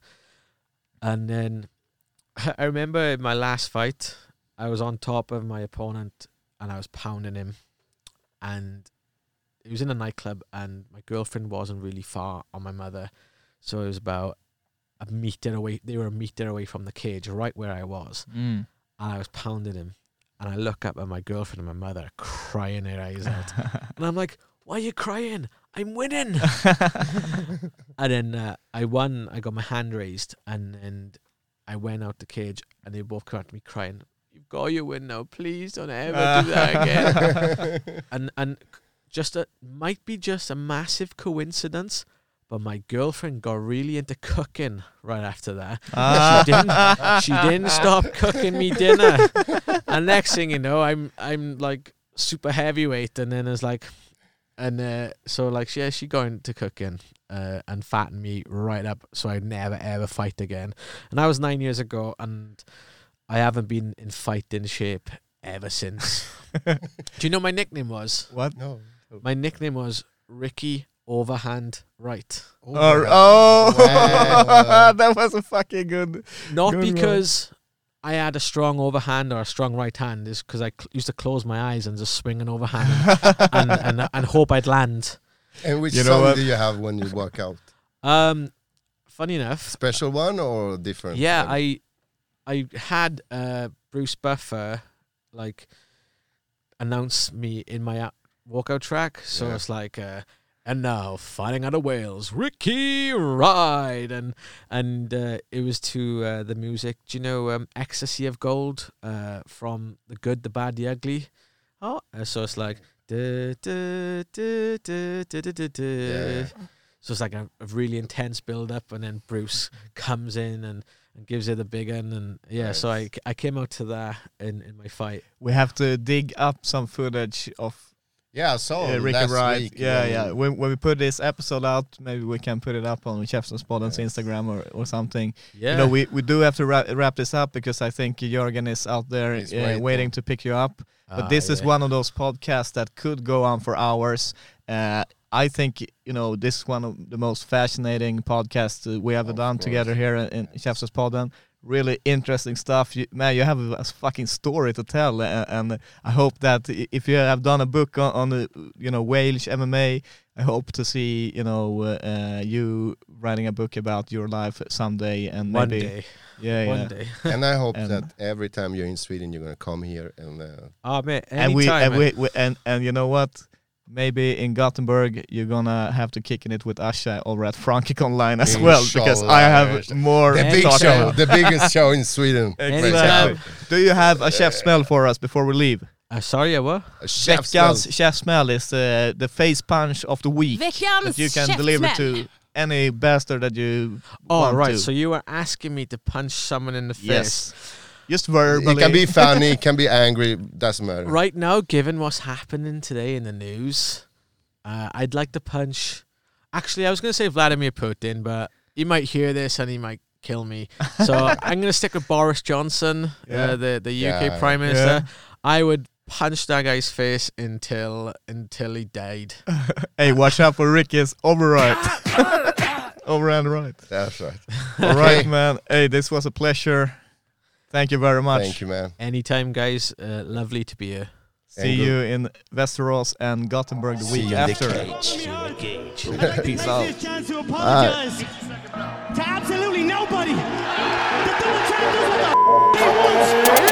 And then I remember in my last fight, I was on top of my opponent and I was pounding him. And it was in a nightclub and my girlfriend wasn't really far on my mother. So it was about a meter away. They were a meter away from the cage, right where I was.
Mm.
And I was pounding him. And I look up at my girlfriend and my mother crying their eyes out. And I'm like, why are you crying? I'm winning. And then uh, I won. I got my hand raised. And then I went out the cage. And they both came at me crying. You've got your win now. Please don't ever do that again. and and just a, might be just a massive coincidence. But my girlfriend got really into cooking right after that.
Ah.
She didn't. She didn't stop cooking me dinner. And next thing you know, I'm I'm like super heavyweight, and then it's like, and uh, so like yeah, she got into cooking uh, and fattened me right up, so I'd never ever fight again. And that was nine years ago, and I haven't been in fighting shape ever since. Do you know what my nickname was?
What?
No.
My nickname was Ricky Overhand Right.
Oh, oh.
Wow.
That was a fucking good.
Not
Good one.
because I had a strong overhand or a strong right hand, is because I cl- used to close my eyes and just swing an overhand and, and, and and hope I'd land.
And which
You know
song
what?
do you have when you work out?
Um, funny enough,
Special one or different?
yeah,
one?
I I had uh, Bruce Buffer like announce me in my uh, walkout track, so
Yeah.
it's like. Uh, And now, fighting out of Wales, Ricky Ride, and and uh, it was to uh, the music. Do you know um, "Ecstasy of Gold" uh, from The Good, the Bad, the Ugly? Oh, uh, so it's like, duh, duh, duh, duh, duh, duh, duh, duh.
Yeah.
So it's like a, a really intense build up, and then Bruce comes in and, and gives it the big one, and yeah. So I I came out to that in, in my fight.
We have to dig up some footage of
Yeah, I saw
uh, Ricky
last
Wright.
week.
Yeah,
when-
yeah. When when we put this episode out, maybe we can put it up on Käftenspodden's Instagram or, or something.
Yeah,
You know, we, we do have to wrap, wrap this up because I think Jörgen is out there
He's
uh,
waiting.
waiting to pick you up. But
Ah,
this is
yeah.
one of those podcasts that could go on for hours. Uh, I think, you know, this is one of the most fascinating podcasts uh, we have
Of
done
course.
together here in, in Käftenspodden. Really interesting stuff. You, man, you have a, a fucking story to tell. Uh, and I hope that i- if you have done a book on, on the, you know, Welsh M M A, I hope to see, you know, uh, uh, you writing a book about your life someday. And
one
maybe,
day,
yeah,
one
yeah.
day.
And I hope
And-
that every time you're in Sweden, you're gonna come here and uh,
Oh man,
And we,
anytime,
and
man.
we, we and and you know what? Maybe in Gothenburg you're gonna have to kick in it with Asha over at Frankic Online as well, because I have
Inshallah.
more
the
to
big
talk
show,
about.
the biggest show in Sweden.
Exactly.
Anytime.
Do you have a chef smell for us before we leave?
Uh, sorry, yeah, what?
A chef's
Veckans
smell.
chef smell is uh, the face punch of the week
Veckans
that you can
chef
deliver
smell.
to any bastard that you
Oh,
want
right.
to.
So you were asking me to punch someone in the face.
Yes, just verbally.
It can be funny, it can be angry, doesn't matter.
Right now, given what's happening today in the news, uh, I'd like to punch. Actually, I was going to say Vladimir Putin, but he might hear this and he might kill me. So I'm going to stick with Boris Johnson,
Yeah.
uh, the the U K
Yeah.
Prime Minister.
Yeah.
I would punch that guy's face until until he died.
Hey, watch out for Ricky's over right. Over and right.
That's right.
All right, man. Hey, this was a pleasure. Thank you very much.
Thank you, man.
Anytime, guys. Uh, lovely to be here.
See
And
you in Västerås and Gothenburg the
See
week
you in the
after.
I'd
Peace
like
out.
to take this chance to apologize to absolutely nobody. The double champ does what the f- he wants.